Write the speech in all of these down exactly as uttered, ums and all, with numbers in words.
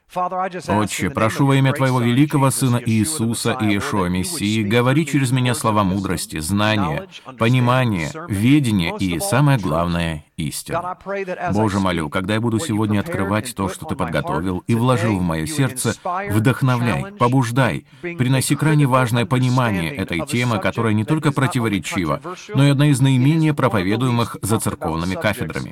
Отче, прошу во имя Твоего великого Сына Иисуса и Иешуа Мессии, говори через меня слова мудрости, знания, понимания, ведения и, самое главное, истины. Боже, молю, когда я буду сегодня открывать то, что Ты подготовил и вложил в мое сердце, вдохновляй, побуждай, приноси крайне важное понимание этой темы, которая не только противоречива, но и одна из наименее проповедуемых за церковными кафедрами.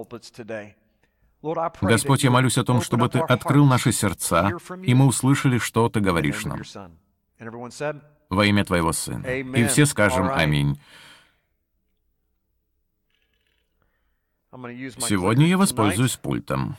Господь, я молюсь о том, чтобы Ты открыл наши сердца, и мы услышали, что Ты говоришь нам. Во имя Твоего Сына. И все скажем «Аминь». Сегодня я воспользуюсь пультом.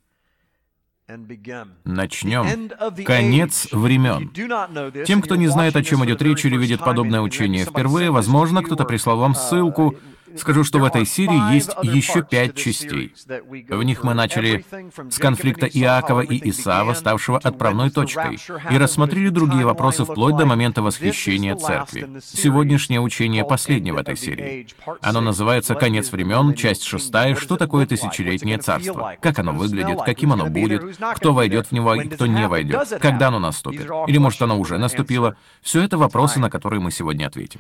Начнем. Конец времен. Тем, кто не знает, о чем идет речь или видит подобное учение впервые, возможно, кто-то прислал вам ссылку. Скажу, что в этой серии есть еще пять частей. В них мы начали с конфликта Иакова и Исава, ставшего отправной точкой, и рассмотрели другие вопросы вплоть до момента восхищения церкви. Сегодняшнее учение последнее в этой серии. Оно называется «Конец времен», часть шестая, что такое тысячелетнее царство, как оно выглядит, каким оно будет, кто войдет в него и кто не войдет, когда оно наступит, или, может, оно уже наступило. Все это вопросы, на которые мы сегодня ответим.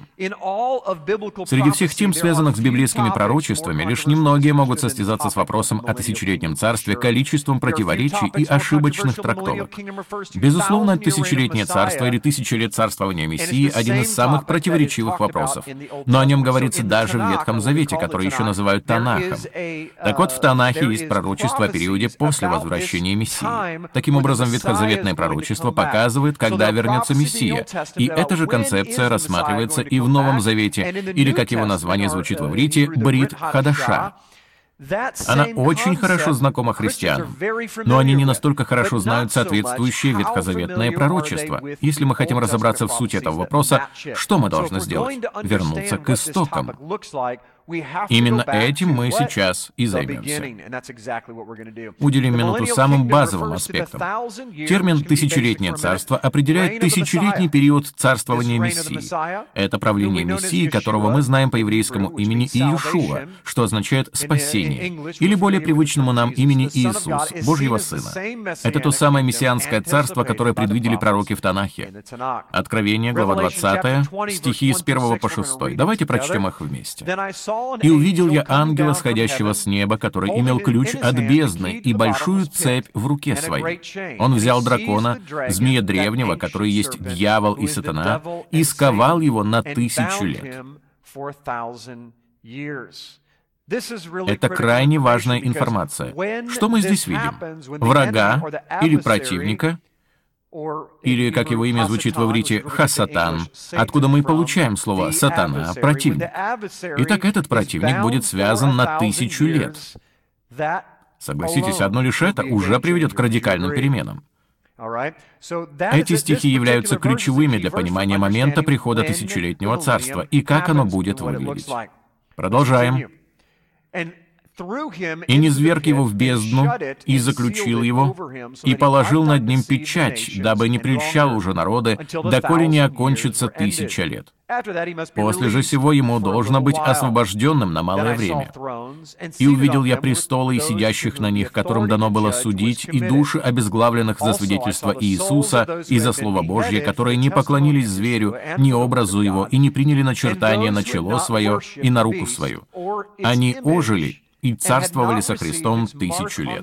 Среди всех тем, связанных с библейскими пророчествами, лишь немногие могут состязаться с вопросом о тысячелетнем царстве количеством противоречий и ошибочных трактовок. Безусловно, тысячелетнее царство или тысяча лет царствования Мессии — один из самых противоречивых вопросов. Но о нем говорится даже в Ветхом Завете, который еще называют Танахом. Так вот, в Танахе есть пророчество о периоде после возвращения Мессии. Таким образом, ветхозаветное пророчество показывает, когда вернется Мессия. И эта же концепция рассматривается и в Новом Завете, или, как его название звучит в иврите, Брит Хадаша. Она очень хорошо знакома христианам, но они не настолько хорошо знают соответствующее ветхозаветное пророчество. Если мы хотим разобраться в сути этого вопроса, что мы должны сделать? Вернуться к истокам. Именно этим мы сейчас и займемся. Уделим минуту самым базовым аспектам. Термин «тысячелетнее царство» определяет тысячелетний период царствования Мессии. Это правление Мессии, которого мы знаем по еврейскому имени Иешуа, что означает «спасение», или более привычному нам имени Иисус, Божьего Сына. Это то самое мессианское царство, которое предвидели пророки в Танахе. Откровение, глава двадцатая, стихи с первого по шестой. Давайте прочтем их вместе. «И увидел я ангела, сходящего с неба, который имел ключ от бездны и большую цепь в руке своей. Он взял дракона, змея древнего, который есть дьявол и сатана, и сковал его на тысячу лет». Это крайне важная информация. Что мы здесь видим? Врага или противника, или, как его имя звучит в иврите, «хасатан», откуда мы получаем слово «сатана», «противник». Итак, этот противник будет связан на тысячу лет. Согласитесь, одно лишь это уже приведет к радикальным переменам. Эти стихи являются ключевыми для понимания момента прихода тысячелетнего царства и как оно будет выглядеть. Продолжаем. «И низверг его в бездну, и заключил его, и положил над ним печать, дабы не прельщал уже народы, доколе не окончится тысяча лет. После же сего ему должно быть освобожденным на малое время. И увидел я престолы и сидящих на них, которым дано было судить, и души обезглавленных за свидетельство Иисуса и за Слово Божье, которые не поклонились зверю, ни образу его, и не приняли начертание на чело свое и на руку свою. Они ожили и царствовали со Христом тысячу лет».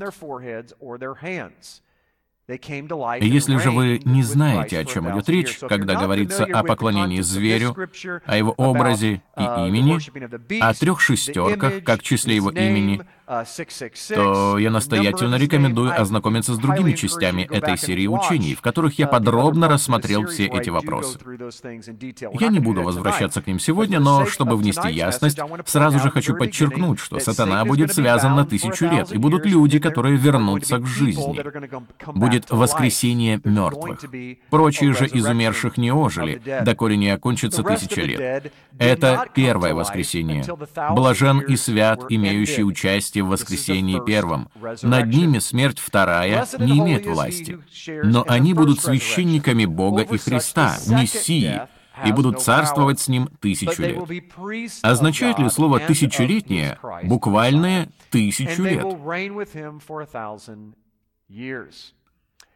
Если же вы не знаете, о чем идет речь, когда говорится о поклонении зверю, о его образе и имени, о трех шестерках, как числе его имени, то я настоятельно рекомендую ознакомиться с другими частями этой серии учений, в которых я подробно рассмотрел все эти вопросы. Я не буду возвращаться к ним сегодня, но, чтобы внести ясность, сразу же хочу подчеркнуть, что сатана будет связан на тысячу лет, и будут люди, которые вернутся к жизни. Будет воскресение мертвых. Прочие же из умерших не ожили, доколе не окончится тысяча лет. Это первое воскресение. Блажен и свят, имеющий участие в воскресении первом. Над ними смерть вторая не имеет власти. Но они будут священниками Бога и Христа, Мессии, и будут царствовать с Ним тысячу лет. Означает ли слово «тысячелетнее» буквальное «тысячу лет»?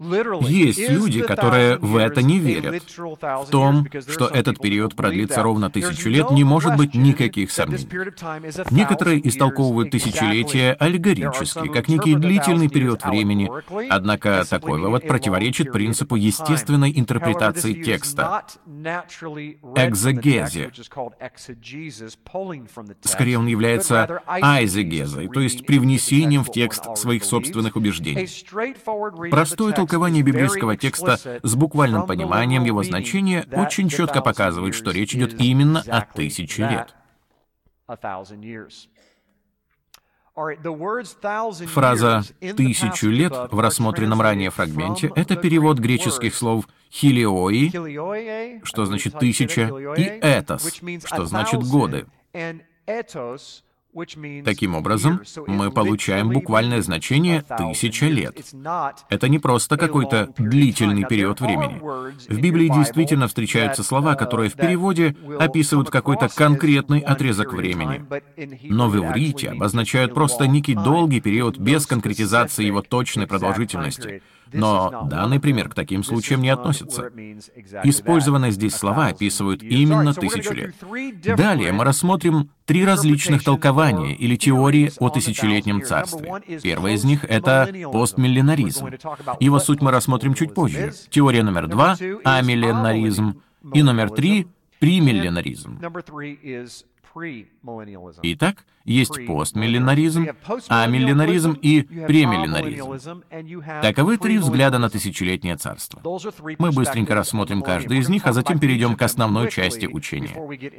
Есть люди, которые в это не верят. В том, что этот период продлится ровно тысячу лет, не может быть никаких сомнений. Некоторые истолковывают тысячелетие аллегорически, как некий длительный период времени, однако такой вывод противоречит принципу естественной интерпретации текста — экзегезе. Скорее, он является айзегезой, то есть привнесением в текст своих собственных убеждений. Простое толкование библейского текста с буквальным пониманием его значения очень четко показывает, что речь идет именно о тысяче лет. Фраза «тысячу лет» в рассмотренном ранее фрагменте — это перевод греческих слов «хилиои», что значит «тысяча», и «этос», что значит «годы». Таким образом, мы получаем буквальное значение «тысяча лет». Это не просто какой-то длительный период времени. В Библии действительно встречаются слова, которые в переводе описывают какой-то конкретный отрезок времени. Но в иврите обозначают просто некий долгий период без конкретизации его точной продолжительности. Но данный пример к таким случаям не относится. Использованные здесь слова описывают именно тысячу лет. Далее мы рассмотрим три различных толкования или теории о тысячелетнем царстве. Первое из них — это постмиллинаризм. Его суть мы рассмотрим чуть позже. Теория номер два — амилленаризм. И номер три — премилленаризм. Итак, есть постмиллинаризм, амилленаризм и премилленаризм. Таковы три взгляда на тысячелетнее царство. Мы быстренько рассмотрим каждый из них, а затем перейдем к основной части учения.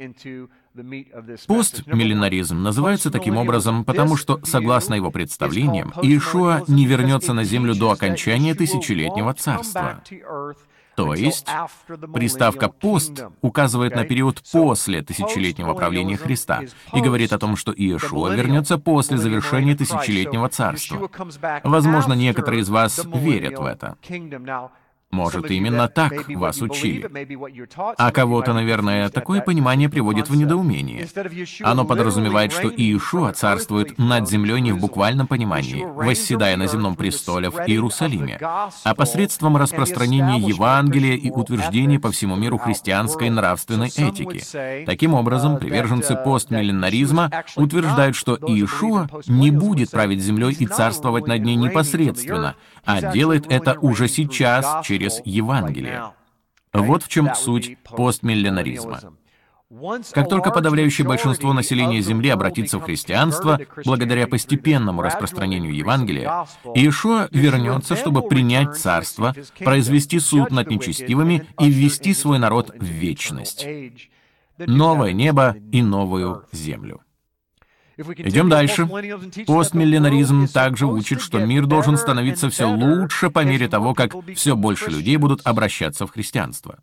Постмиллинаризм называется таким образом, потому что, согласно его представлениям, Иешуа не вернется на землю до окончания тысячелетнего царства. То есть, приставка «пост» указывает на период после тысячелетнего правления Христа и говорит о том, что Иешуа вернется после завершения тысячелетнего царства. Возможно, некоторые из вас верят в это. Может, именно так вас учили. А кого-то, наверное, такое понимание приводит в недоумение. Оно подразумевает, что Иешуа царствует над землей не в буквальном понимании, восседая на земном престоле в Иерусалиме, а посредством распространения Евангелия и утверждения по всему миру христианской нравственной этики. Таким образом, приверженцы постмиллинаризма утверждают, что Иешуа не будет править землей и царствовать над ней непосредственно, а делает это уже сейчас через Евангелие. Вот в чем суть постмиллинаризма. Как только подавляющее большинство населения Земли обратится в христианство, благодаря постепенному распространению Евангелия, Иешуа вернется, чтобы принять царство, произвести суд над нечестивыми и ввести свой народ в вечность. Новое небо и новую землю. Идем дальше. Постмиллинаризм также учит, что мир должен становиться все лучше по мере того, как все больше людей будут обращаться в христианство.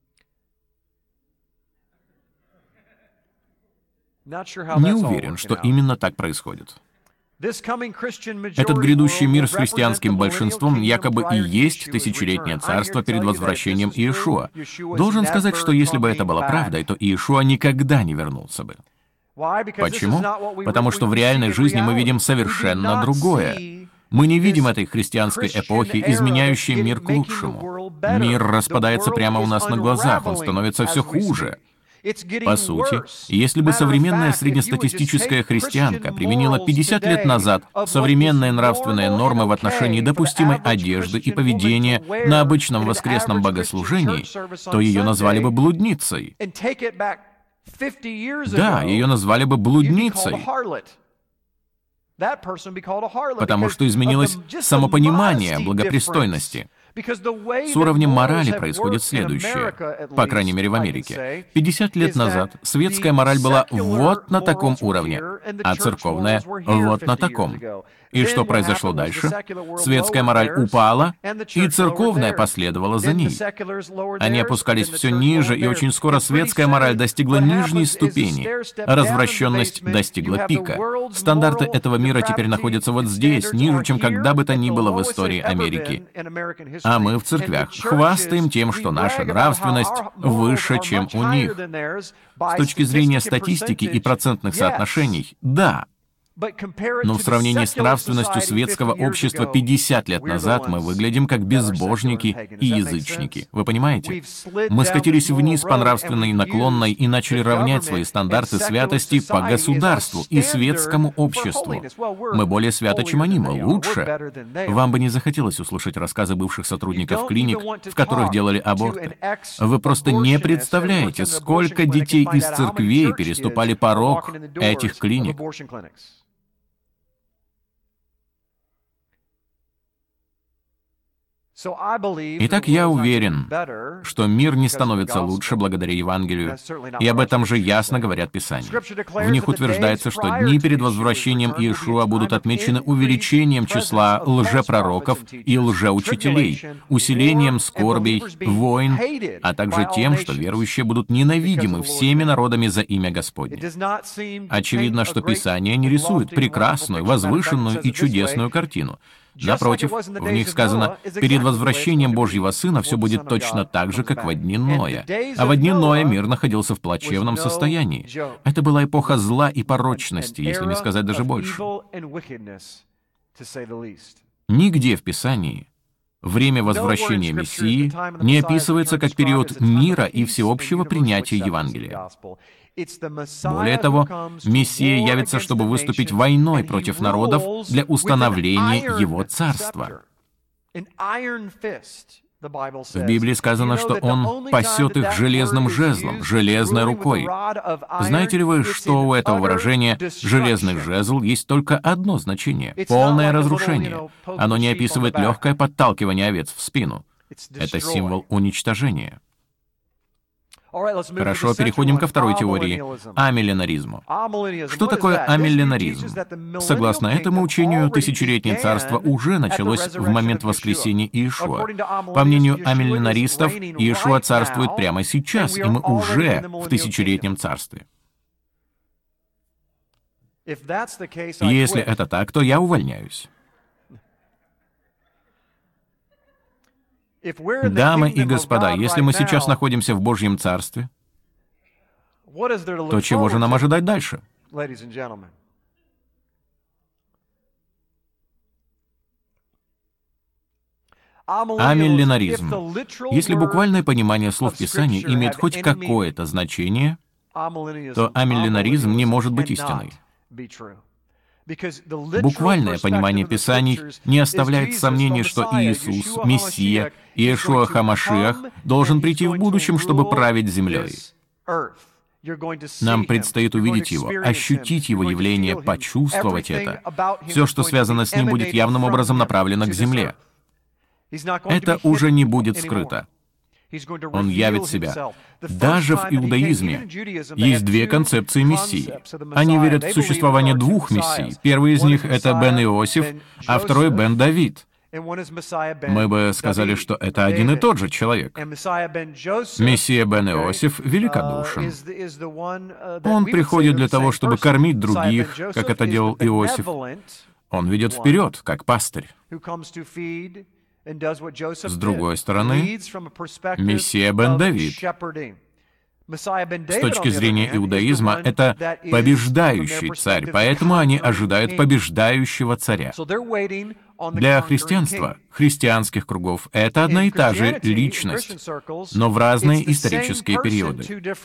Не уверен, что именно так происходит. Этот грядущий мир с христианским большинством якобы и есть тысячелетнее царство перед возвращением Иешуа. Должен сказать, что если бы это было правдой, то Иешуа никогда не вернулся бы. Почему? Потому что в реальной жизни мы видим совершенно другое. Мы не видим этой христианской эпохи, изменяющей мир к лучшему. Мир распадается прямо у нас на глазах, он становится все хуже. По сути, если бы современная среднестатистическая христианка применила пятьдесят лет назад современные нравственные нормы в отношении допустимой одежды и поведения на обычном воскресном богослужении, то ее назвали бы блудницей. Да, ее назвали бы блудницей, потому что изменилось самопонимание благопристойности. С уровнем морали происходит следующее, по крайней мере в Америке. пятьдесят лет назад светская мораль была вот на таком уровне, а церковная вот на таком. И что произошло дальше? Светская мораль упала, и церковная последовала за ней. Они опускались все ниже, и очень скоро светская мораль достигла нижней ступени, а развращенность достигла пика. Стандарты этого мира теперь находятся вот здесь, ниже, чем когда бы то ни было в истории Америки. А мы в церквях хвастаем тем, что наша нравственность выше, чем у них. С точки зрения статистики и процентных соотношений, да. Но в сравнении с нравственностью светского общества пятьдесят лет назад мы выглядим как безбожники и язычники. Вы понимаете? Мы скатились вниз по нравственной наклонной и начали равнять свои стандарты святости по государству и светскому обществу. Мы более святы, чем они, мы лучше. Вам бы не захотелось услышать рассказы бывших сотрудников клиник, в которых делали аборты. Вы просто не представляете, сколько детей из церквей переступали порог этих клиник. Итак, я уверен, что мир не становится лучше благодаря Евангелию, и об этом же ясно говорят Писания. В них утверждается, что дни перед возвращением Иешуа будут отмечены увеличением числа лжепророков и лжеучителей, усилением скорбей, войн, а также тем, что верующие будут ненавидимы всеми народами за имя Господне. Очевидно, что Писание не рисует прекрасную, возвышенную и чудесную картину. Напротив, в них сказано, перед возвращением Божьего Сына все будет точно так же, как во дни Ноя. А во дни Ноя мир находился в плачевном состоянии. Это была эпоха зла и порочности, если не сказать даже больше. Нигде в Писании время возвращения Мессии не описывается как период мира и всеобщего принятия Евангелия. Более того, Мессия явится, чтобы выступить войной против народов для установления Его царства. В Библии сказано, что Он пасет их железным жезлом, железной рукой. Знаете ли вы, что у этого выражения «железный жезл» есть только одно значение — полное разрушение. Оно не описывает легкое подталкивание овец в спину. Это символ уничтожения. Хорошо, переходим ко второй теории — амилленаризму. Что такое амилленаризм? Согласно этому учению, тысячелетнее царство уже началось в момент воскресения Иешуа. По мнению амилленаристов, Иешуа царствует прямо сейчас, и мы уже в тысячелетнем царстве. Если это так, то я увольняюсь. Дамы и господа, если мы сейчас находимся в Божьем Царстве, то чего же нам ожидать дальше? Амилленаризм. Если буквальное понимание слов Писания имеет хоть какое-то значение, то амилленаризм не может быть истиной. Буквальное понимание Писаний не оставляет сомнений, что Иисус, Мессия, Иешуа Хамашиах, должен прийти в будущем, чтобы править землей. Нам предстоит увидеть Его, ощутить Его явление, почувствовать это. Все, что связано с Ним, будет явным образом направлено к земле. Это уже не будет скрыто. Он явит себя. Даже в иудаизме есть две концепции Мессии. Они верят в существование двух Мессий. Первый из них — это Бен Иосиф, а второй — Бен Давид. Мы бы сказали, что это один и тот же человек. Мессия Бен Иосиф великодушен. Он приходит для того, чтобы кормить других, как это делал Иосиф. Он ведет вперед, как пастырь. С другой стороны, Мессия Бен Давид. С точки зрения иудаизма, это побеждающий царь, поэтому они ожидают побеждающего царя. Для христианства, христианских кругов, это одна и та же личность, но в разные исторические периоды.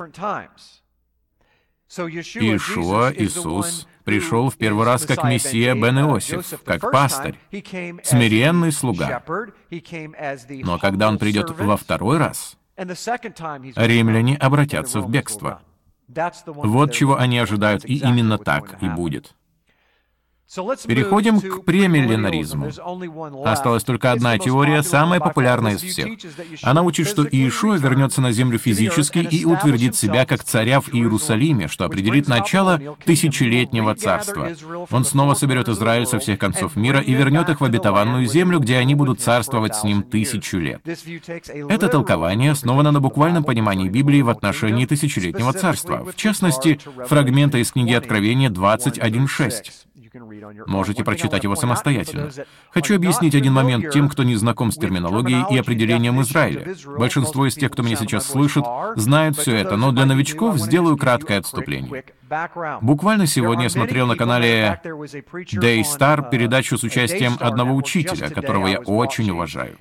Иешуа, Иисус, пришел в первый раз как Мессия Бен Иосиф, как пастырь, смиренный слуга. Но когда Он придет во второй раз, римляне обратятся в бегство. Вот чего они ожидают, и именно так и будет. Переходим к премилленаризму. Осталась только одна теория, самая популярная из всех. Она учит, что Иешуа вернется на землю физически и утвердит себя как царя в Иерусалиме, что определит начало тысячелетнего царства. Он снова соберет Израиль со всех концов мира и вернет их в обетованную землю, где они будут царствовать с ним тысячу лет. Это толкование основано на буквальном понимании Библии в отношении тысячелетнего царства, в частности, фрагмента из книги Откровения двадцать один шесть. Можете прочитать его самостоятельно. Хочу объяснить один момент тем, кто не знаком с терминологией и определением Израиля. Большинство из тех, кто меня сейчас слышит, знают все это, но для новичков сделаю краткое отступление. Буквально сегодня я смотрел на канале Daystar передачу с участием одного учителя, которого я очень уважаю.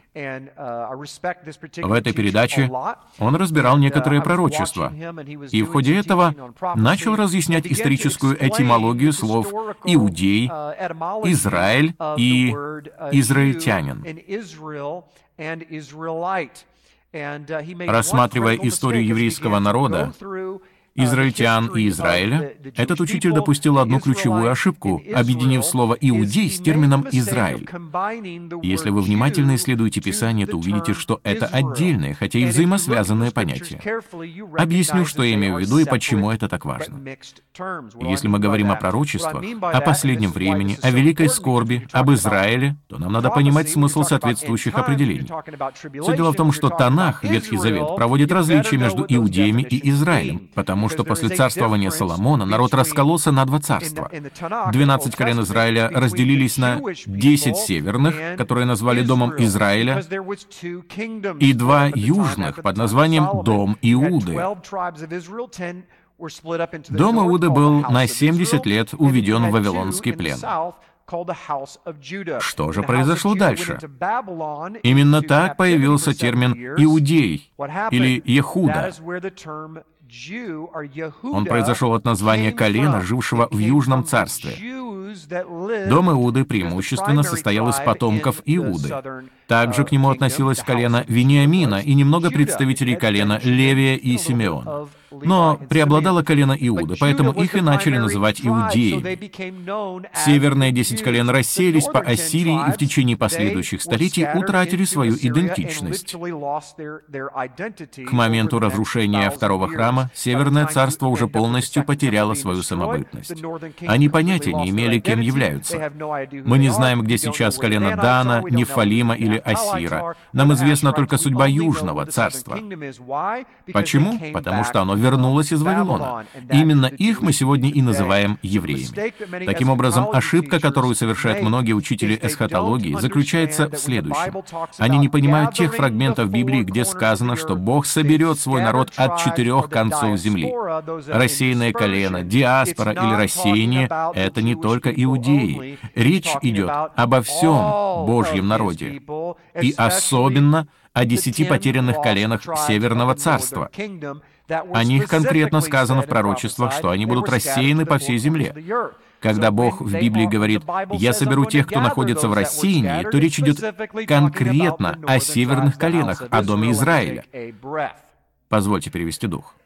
В этой передаче он разбирал некоторые пророчества, и в ходе этого начал разъяснять историческую этимологию слов «иудей», «Израиль» и «израильтянин». Рассматривая историю еврейского народа, израильтян и Израиля, этот учитель допустил одну ключевую ошибку, объединив слово «иудей» с термином «Израиль». Если вы внимательно исследуете Писание, то увидите, что это отдельные, хотя и взаимосвязанные понятия. Объясню, что я имею в виду и почему это так важно. Если мы говорим о пророчествах, о последнем времени, о великой скорби, об Израиле, то нам надо понимать смысл соответствующих определений. Все дело в том, что Танах, Ветхий Завет, проводит различия между иудеями и Израилем, потому что после царствования Соломона народ раскололся на два царства. Двенадцать колен Израиля разделились на десять северных, которые назвали Домом Израиля, и два южных под названием Дом Иуды. Дом Иуды был на семьдесят лет уведен в Вавилонский плен. Что же произошло дальше? Именно так появился термин «иудей» или «Ехуда». Он произошел от названия колена, жившего в Южном царстве. Дом Иуды преимущественно состоял из потомков Иуды. Также к нему относилось колено Вениамина и немного представителей колена Левия и Симеона. Но преобладало колено Иуды, поэтому их и начали называть иудеями. Северные десять колен рассеялись по Ассирии и в течение последующих столетий утратили свою идентичность. К моменту разрушения Второго храма Северное царство уже полностью потеряло свою самобытность. Они понятия не имели, кем являются. Мы не знаем, где сейчас колено Дана, Нефалима или Ассира. Нам известна только судьба Южного царства. Почему? Потому что оно вернулось из Вавилона. Именно их мы сегодня и называем евреями. Таким образом, ошибка, которую совершают многие учители эсхатологии, заключается в следующем. Они не понимают тех фрагментов Библии, где сказано, что Бог соберет свой народ от четырех концов земли. Рассеянное колено, диаспора или рассеяние — это не только иудеи. Речь идет обо всем Божьем народе. И особенно о десяти потерянных коленах Северного царства. О них конкретно сказано в пророчествах, что они будут рассеяны по всей земле. Когда Бог в Библии говорит «Я соберу тех, кто находится в рассеянии», то речь идет конкретно о северных коленах, о доме Израиля. Позвольте перевести дух.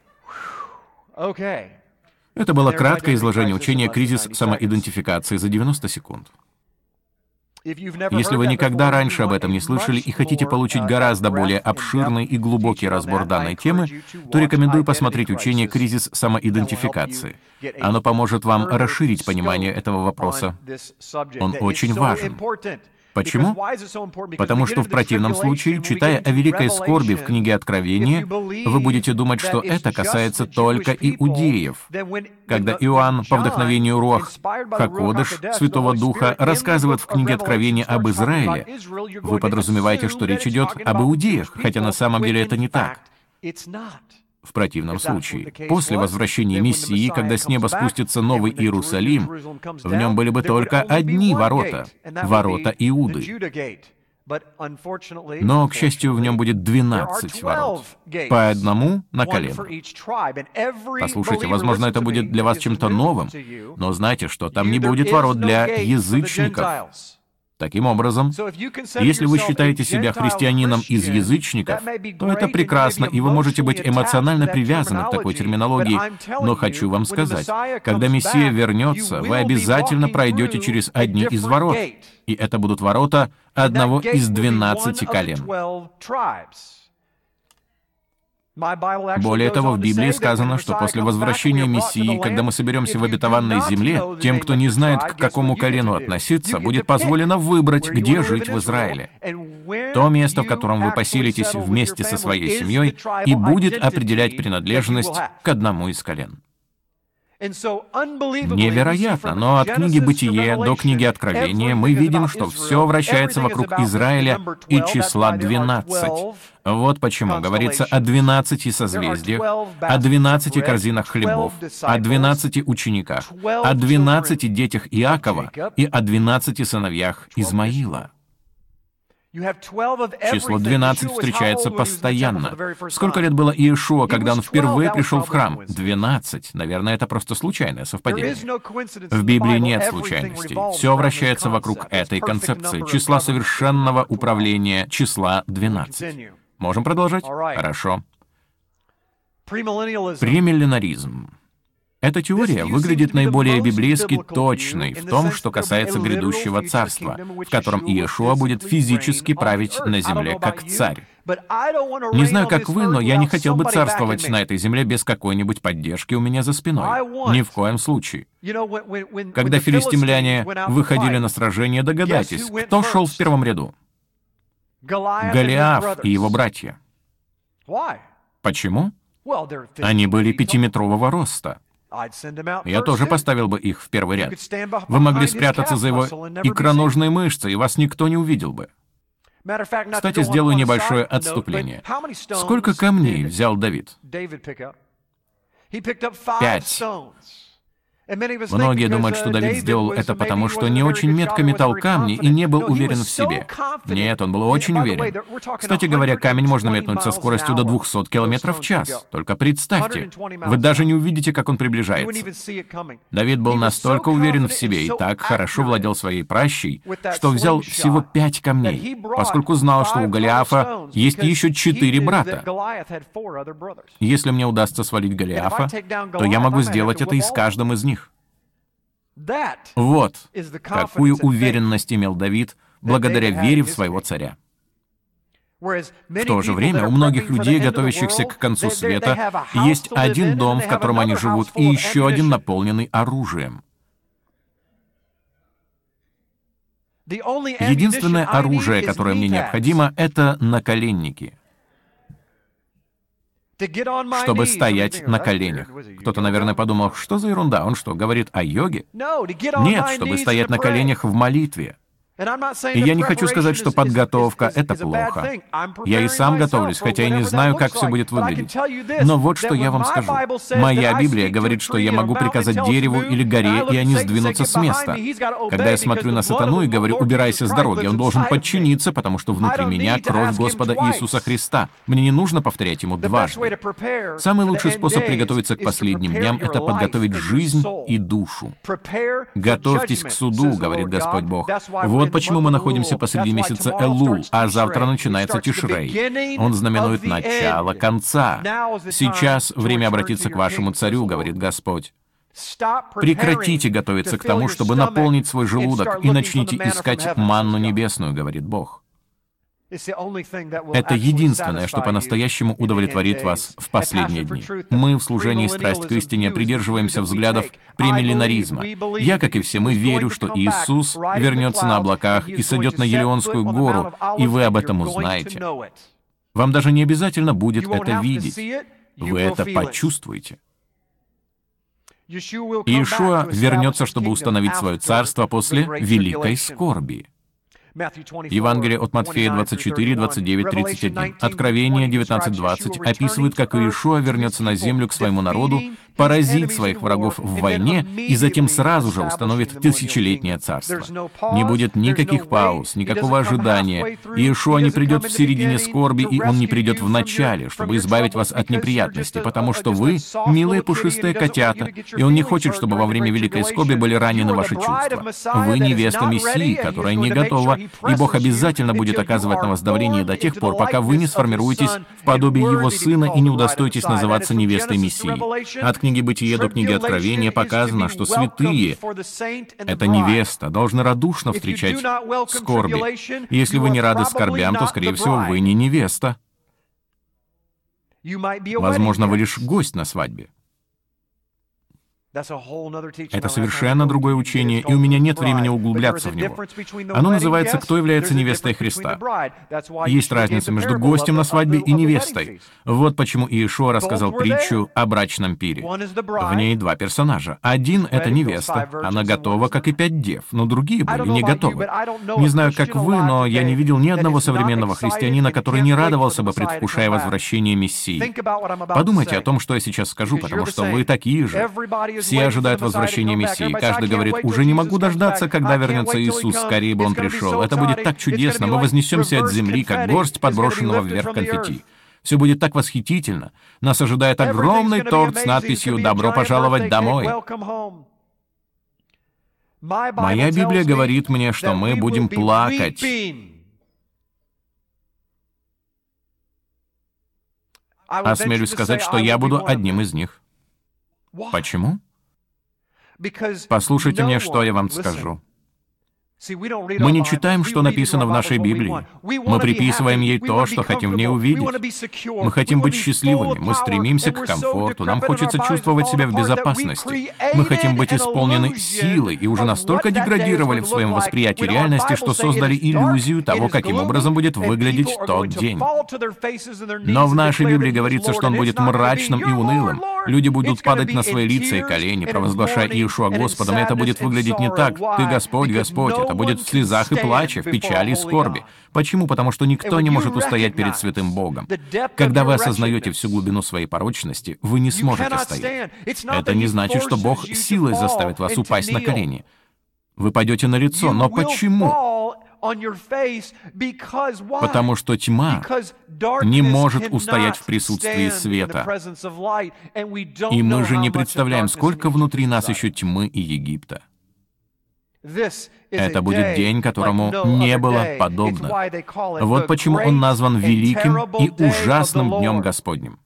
Это было краткое изложение учения «Кризис самоидентификации» за девяносто секунд. Если вы никогда раньше об этом не слышали и хотите получить гораздо более обширный и глубокий разбор данной темы, то рекомендую посмотреть учение «Кризис самоидентификации». Оно поможет вам расширить понимание этого вопроса. Он очень важен. Почему? Потому что в противном случае, читая о великой скорби в книге Откровения, вы будете думать, что это касается только иудеев. Когда Иоанн по вдохновению Руах Хакодеш, Святого Духа, рассказывает в книге Откровения об Израиле, вы подразумеваете, что речь идет об иудеях, хотя на самом деле это не так. В противном случае, после возвращения Мессии, когда с неба спустится Новый Иерусалим, в нем были бы только одни ворота — ворота Иуды. Но, к счастью, в нем будет двенадцать ворот, по одному на колено. Послушайте, возможно, это будет для вас чем-то новым, но знайте, что там не будет ворот для язычников. Таким образом, если вы считаете себя христианином из язычников, то это прекрасно, и вы можете быть эмоционально привязаны к такой терминологии. Но хочу вам сказать, когда Мессия вернется, вы обязательно пройдете через одни из ворот, и это будут ворота одного из двенадцати колен. Более того, в Библии сказано, что после возвращения Мессии, когда мы соберемся в обетованной земле, тем, кто не знает, к какому колену относиться, будет позволено выбрать, где жить в Израиле. То место, в котором вы поселитесь вместе со своей семьей, и будет определять принадлежность к одному из колен. Невероятно, но от книги «Бытие» до книги «Откровения» мы видим, что все вращается вокруг Израиля и числа двенадцать. Вот почему говорится о двенадцати созвездиях, о двенадцати корзинах хлебов, о двенадцати учениках, о двенадцати детях Иакова и о двенадцати сыновьях Измаила. Число двенадцать встречается постоянно. Сколько лет было Иешуа, когда он впервые пришел в храм? двенадцать. Наверное, это просто случайное совпадение. В Библии нет случайностей. Все вращается вокруг этой концепции, числа совершенного управления, числа двенадцать. Можем продолжать? Хорошо. Премилленаризм. Эта теория выглядит наиболее библейски точной в том, что касается грядущего царства, в котором Иешуа будет физически править на земле как царь. Не знаю, как вы, но я не хотел бы царствовать на этой земле без какой-нибудь поддержки у меня за спиной. Ни в коем случае. Когда филистимляне выходили на сражение, догадайтесь, кто шел в первом ряду? Голиаф и его братья. Почему? Они были пятиметрового роста. Я тоже поставил бы их в первый ряд. Вы могли спрятаться за его икроножные мышцы, и вас никто не увидел бы. Кстати, сделаю небольшое отступление. Сколько камней взял Давид? Пять. Многие думают, что Давид сделал это потому, что не очень метко метал камни и не был уверен в себе. Нет, он был очень уверен. Кстати говоря, камень можно метнуть со скоростью до двухсот километров в час. Только представьте, вы даже не увидите, как он приближается. Давид был настолько уверен в себе и так хорошо владел своей пращей, что взял всего пять камней, поскольку знал, что у Голиафа есть еще четыре брата. Если мне удастся свалить Голиафа, то я могу сделать это и с каждым из них. Вот какую уверенность имел Давид благодаря вере в своего царя. В то же время у многих людей, готовящихся к концу света, есть один дом, в котором они живут, и еще один, наполненный оружием. Единственное оружие, которое мне необходимо, это наколенники, чтобы стоять на коленях. Кто-то, наверное, подумал, что за ерунда, он что, говорит о йоге? Нет, чтобы стоять на коленях в молитве. И я не хочу сказать, что подготовка — это плохо. Я и сам готовлюсь, хотя и не знаю, как все будет выглядеть. Но вот что я вам скажу. Моя Библия говорит, что я могу приказать дереву или горе, и они сдвинутся с места. Когда я смотрю на сатану и говорю «убирайся с дороги», он должен подчиниться, потому что внутри меня кровь Господа Иисуса Христа. Мне не нужно повторять ему дважды. Самый лучший способ приготовиться к последним дням — это подготовить жизнь и душу. «Готовьтесь к суду», — говорит Господь Бог. Вот почему мы находимся посреди месяца Элул, а завтра начинается Тишрей. Он знаменует начало конца. Сейчас время обратиться к вашему царю, говорит Господь. Прекратите готовиться к тому, чтобы наполнить свой желудок, и начните искать манну небесную, говорит Бог. Это единственное, что по-настоящему удовлетворит вас в последние дни. Мы в служении «Страсть к истине» придерживаемся взглядов премилленаризма. Я, как и все мы, верю, что Иисус вернется на облаках и сойдет на Елеонскую гору, и вы об этом узнаете. Вам даже не обязательно будет это видеть. Вы это почувствуете. Иешуа вернется, чтобы установить свое царство после великой скорби. Евангелие от Матфея двадцать четыре, двадцать девять, тридцать один. Откровение девятнадцать двадцать описывает, как Иешуа вернется на землю к своему народу, поразит своих врагов в войне и затем сразу же установит тысячелетнее царство. Не будет никаких пауз, никакого ожидания. Иешуа не придет в середине скорби, и он не придет в начале, чтобы избавить вас от неприятностей, потому что вы милые пушистые котята, и он не хочет, чтобы во время великой скорби были ранены ваши чувства. Вы невеста Мессии, которая не готова, и Бог обязательно будет оказывать на вас давление до тех пор, пока вы не сформируетесь в подобие Его Сына и не удостоитесь называться невестой Мессии. От книги «Бытие» до книги «Откровения» показано, что святые — это невеста, должны радушно встречать скорби. Если вы не рады скорбям, то, скорее всего, вы не невеста. Возможно, вы лишь гость на свадьбе. Это совершенно другое учение, и у меня нет времени углубляться в него. Оно называется «Кто является невестой Христа?». Есть разница между гостем на свадьбе и невестой. Вот почему Иешуа рассказал притчу о брачном пире. В ней два персонажа. Один — это невеста. Она готова, как и пять дев, но другие были не готовы. Не знаю, как вы, но я не видел ни одного современного христианина, который не радовался бы, предвкушая возвращение Мессии. Подумайте о том, что я сейчас скажу, потому что вы такие же. Все ожидают возвращения Мессии. Каждый говорит: «Уже не могу дождаться, когда вернется Иисус, скорее бы Он пришел. Это будет так чудесно, мы вознесемся от земли, как горсть подброшенного вверх конфетти. Все будет так восхитительно. Нас ожидает огромный торт с надписью «Добро пожаловать домой». Моя Библия говорит мне, что мы будем плакать. Осмелюсь сказать, что я буду одним из них. Почему? Послушайте мне, что я вам скажу. Мы не читаем, что написано в нашей Библии. Мы приписываем ей то, что хотим в ней увидеть. Мы хотим быть счастливыми, мы стремимся к комфорту, нам хочется чувствовать себя в безопасности. Мы хотим быть исполнены силой и уже настолько деградировали в своем восприятии реальности, что создали иллюзию того, каким образом будет выглядеть тот день. Но в нашей Библии говорится, что он будет мрачным и унылым. Люди будут падать на свои лица и колени, провозглашая Иешуа Господом, и это будет выглядеть не так. «Ты Господь, Господь». Это будет в слезах и плаче, в печали и скорби. Почему? Потому что никто не может устоять перед святым Богом. Когда вы осознаете всю глубину своей порочности, вы не сможете стоять. Это не значит, что Бог силой заставит вас упасть на колени. Вы пойдете на лицо. Но почему? Потому что тьма не может устоять в присутствии света. И мы же не представляем, сколько внутри нас еще тьмы и Египта. Это будет день, которому не было подобно. Вот почему он назван великим и ужасным днем Господним.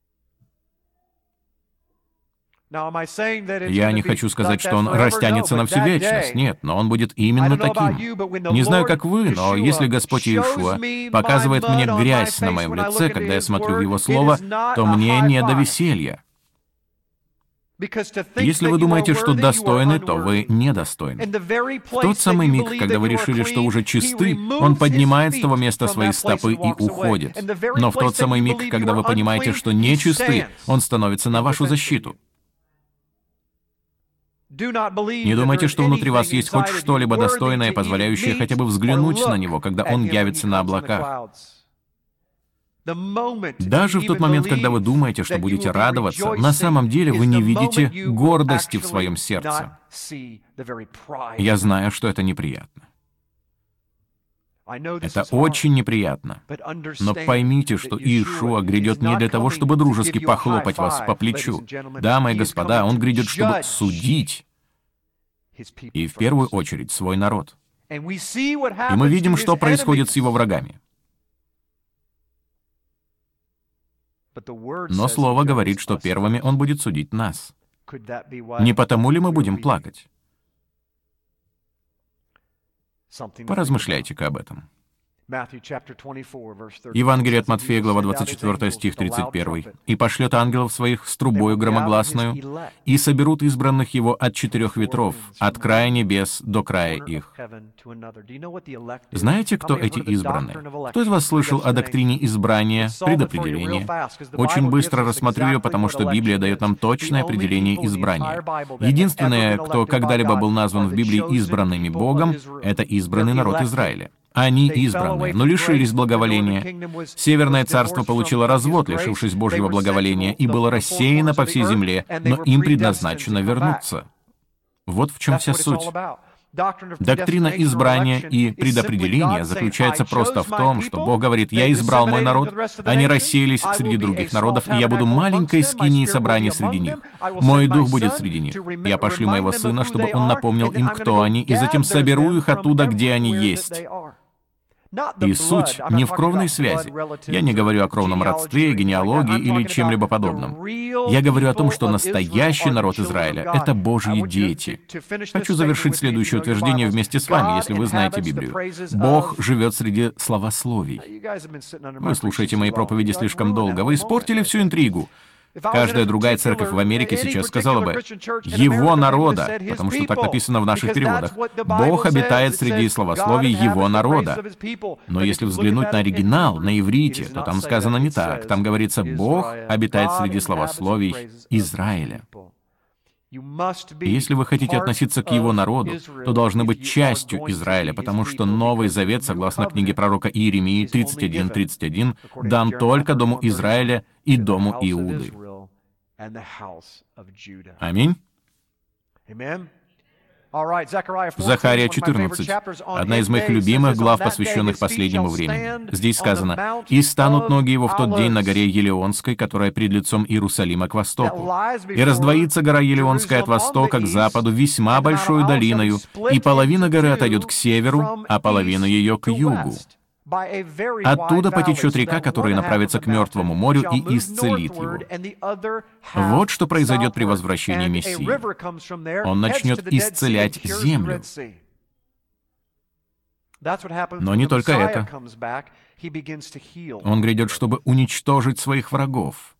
Я не хочу сказать, что он растянется на всю вечность. Нет, но он будет именно таким. Не знаю, как вы, но если Господь Иешуа показывает мне грязь на моем лице, когда я смотрю в Его Слово, то мне не до веселья. Если вы думаете, что достойны, то вы недостойны. В тот самый миг, когда вы решили, что уже чисты, Он поднимает с того места свои стопы и уходит. Но в тот самый миг, когда вы понимаете, что не чисты, Он становится на вашу защиту. Не думайте, что внутри вас есть хоть что-либо достойное, позволяющее хотя бы взглянуть на Него, когда Он явится на облаках. Даже в тот момент, когда вы думаете, что будете радоваться, на самом деле вы не видите гордости в своем сердце. Я знаю, что это неприятно. Это очень неприятно. Но поймите, что Иешуа грядет не для того, чтобы дружески похлопать вас по плечу. Дамы и господа, Он грядет, чтобы судить. И в первую очередь свой народ. И мы видим, что происходит с Его врагами. Но Слово говорит, что первыми Он будет судить нас. Не потому ли мы будем плакать? Поразмышляйте-ка об этом. Евангелие от Матфея, глава двадцать четвёртая, стих тридцать первый. «И пошлет ангелов своих с трубою громогласную, и соберут избранных Его от четырех ветров, от края небес до края их». Знаете, кто эти избранные? Кто из вас слышал о доктрине избрания, предопределения? Очень быстро рассмотрю ее, потому что Библия дает нам точное определение избрания. Единственное, кто когда-либо был назван в Библии избранными Богом, это избранный народ Израиля. Они избранные, но лишились благоволения. Северное царство получило развод, лишившись Божьего благоволения, и было рассеяно по всей земле, но им предназначено вернуться. Вот в чем вся суть. Доктрина избрания и предопределения заключается просто в том, что Бог говорит: «Я избрал мой народ, они рассеялись среди других народов, и я буду маленькой скинией собрания среди них. Мой дух будет среди них. Я пошлю моего сына, чтобы он напомнил им, кто они, и затем соберу их оттуда, где они есть». И суть не в кровной связи. Я не говорю о кровном родстве, генеалогии или чем-либо подобном. Я говорю о том, что настоящий народ Израиля — это Божьи дети. Хочу завершить следующее утверждение вместе с вами, если вы знаете Библию. Бог живет среди словословий. Вы слушаете мои проповеди слишком долго. Вы испортили всю интригу. Каждая другая церковь в Америке сейчас сказала бы «Его народа», потому что так написано в наших переводах. Бог обитает среди славословий Его народа. Но если взглянуть на оригинал, на иврите, то там сказано не так. Там говорится «Бог обитает среди славословий Израиля». И если вы хотите относиться к Его народу, то должны быть частью Израиля, потому что Новый Завет, согласно книге пророка Иеремии тридцать один тридцать один, дан только дому Израиля и дому Иуды. Аминь. Захария четырнадцать. Одна из моих любимых глав, посвященных последнему времени. Здесь сказано: «И станут ноги его в тот день на горе Елеонской, которая пред лицом Иерусалима к востоку. И раздвоится гора Елеонская от востока к западу весьма большою долиною, и половина горы отойдет к северу, а половина ее к югу. Оттуда потечет река, которая направится к Мертвому морю и исцелит его». Вот что произойдет при возвращении Мессии. Он начнет исцелять землю. Но не только это. Он грядет, чтобы уничтожить своих врагов.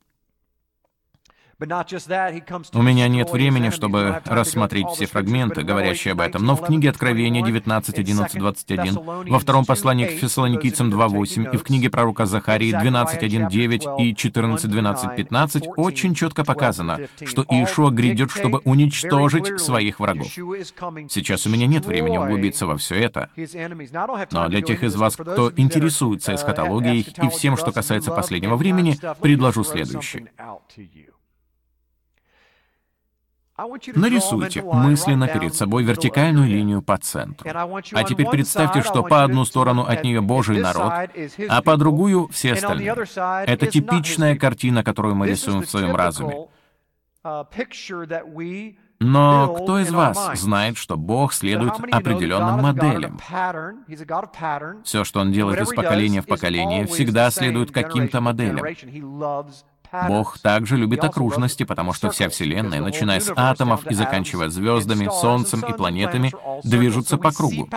У меня нет времени, чтобы рассмотреть все фрагменты, говорящие об этом, но в книге Откровения девятнадцать, одиннадцать, двадцать один, во втором послании к Фессалоникийцам два восемь и в книге пророка Захарии двенадцать, один, девять и четырнадцать, двенадцать, пятнадцать очень четко показано, что Иешуа грядет, чтобы уничтожить своих врагов. Сейчас у меня нет времени углубиться во все это, но для тех из вас, кто интересуется эсхатологией и всем, что касается последнего времени, предложу следующее. Нарисуйте мысленно перед собой вертикальную линию по центру. А теперь представьте, что по одну сторону от нее Божий народ, а по другую — все остальные. Это типичная картина, которую мы рисуем в своем разуме. Но кто из вас знает, что Бог следует определенным моделям? Все, что Он делает из поколения в поколение, всегда следует каким-то моделям. Бог также любит окружности, потому что вся Вселенная, начиная с атомов и заканчивая звездами, Солнцем и планетами, движутся по кругу.